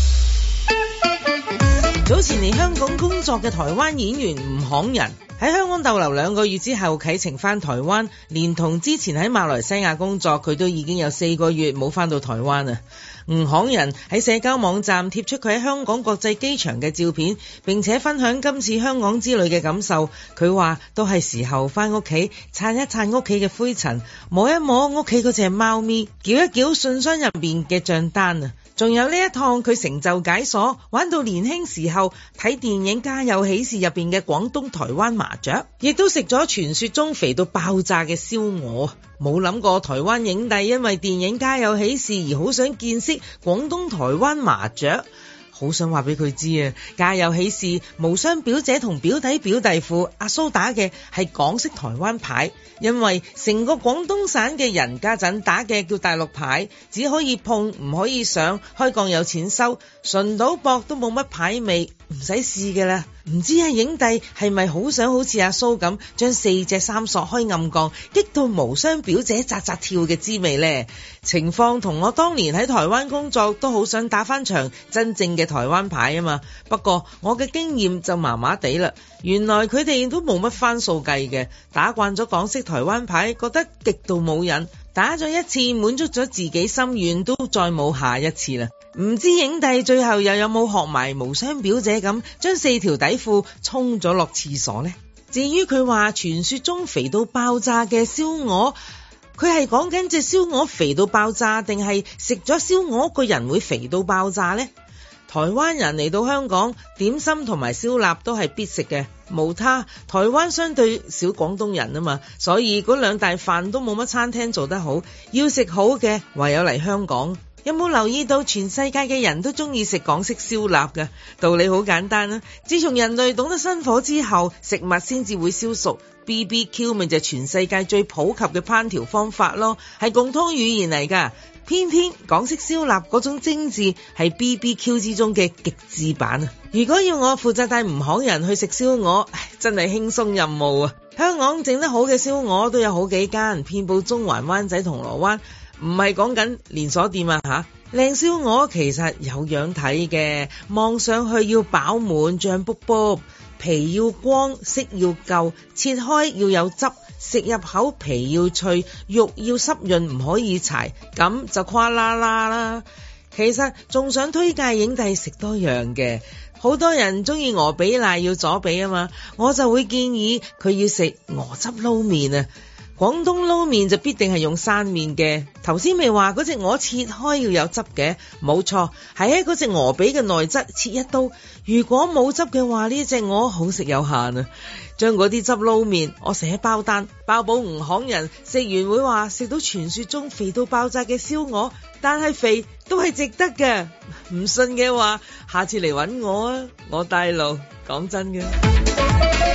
早前嚟香港工作嘅台灣演員吳慷仁喺香港逗留兩個月之後啟程返台灣，連同之前喺馬來西亞工作，佢都已經有四個月冇返到台灣啊！吳慷仁喺社交網站貼出佢喺香港國際機場嘅照片，並且分享今次香港之旅嘅感受。佢話都係時候返屋企撐一撐屋企嘅灰塵，摸一摸屋企嗰隻貓咪，繳一繳信箱入面嘅賬單啊！仲有呢一趟佢成就解鎖，玩到年輕時候睇電影《家有喜事》入邊嘅廣東台灣麻雀，亦都食咗傳說中肥到爆炸嘅燒鵝。冇諗過台灣影帝因為電影《家有喜事》而好想見識廣東台灣麻雀。好想話俾佢知啊！家有喜事，無雙表姐同表弟表弟父阿蘇打嘅係港式台灣牌，因為成個廣東省嘅人家陣打嘅叫大陸牌，只可以碰唔可以上，開槓有錢收，純賭博都冇乜牌味，唔使試㗎啦。唔知阿影帝係咪好想好似阿蘇咁，將四隻三索開暗槓，激到無雙表姐扎扎跳嘅滋味呢？情況同我當年喺台灣工作都好想打返場真正嘅台灣牌啊嘛。不過我嘅經驗就麻麻地啦。原來佢哋都冇乜番數計嘅，打慣咗港式台灣牌，覺得極度冇癮。打咗一次滿足咗自己心願，都再冇下一次啦。唔知影帝最後又有冇學埋無雙表姐咁，將四條底褲沖咗落廁所呢？至於佢話傳說中肥到爆炸嘅燒鵝，佢係講緊隻燒鵝肥到爆炸，定係食咗燒鵝個人會肥到爆炸呢？台灣人嚟到香港，點心同埋燒臘都係必食嘅，無他。台灣相對少廣東人啊嘛，所以嗰兩大飯都冇乜餐廳做得好，要食好嘅唯有嚟香港。 有冇留意到全世界嘅人都中意食港式燒臘㗎？道理好簡單啦，自從人類懂得生火之後，食物先至會燒熟。B B Q 咪就係全世界最普及嘅烹調方法咯，係共通語言嚟㗎。偏偏港式燒臘嗰種精緻係 B B Q 之中嘅極致版啊！如果要我負責帶唔行人去食燒鵝，真係輕鬆任務啊！香港整得好嘅燒鵝都有好幾間，遍佈中環、灣仔、銅鑼灣，唔係講緊連鎖店啊吓。靚燒鵝其實有樣睇嘅，望上去要飽滿脹卜卜，皮要光，色要夠，切開要有汁，食入口皮要脆，肉要濕潤唔可以柴，咁就誇啦啦啦。其實仲想推介影帝食多樣嘅，好多人中意鵝髀瀨要左髀啊嘛，我就會建議佢要食鵝汁撈麵啊。廣東撈麵就必定係用生麵嘅。頭先咪話嗰隻鵝切開要有汁嘅，冇錯，係喺嗰隻鵝髀嘅內側切一刀。如果冇汁嘅話，呢隻鵝好食有限啊！將嗰啲汁撈麵，我寫包單，包保唔行人食完會話食到傳說中肥到爆炸嘅燒鵝，但係肥都係值得嘅。唔信嘅話，下次嚟搵我啊！我帶路，講真嘅。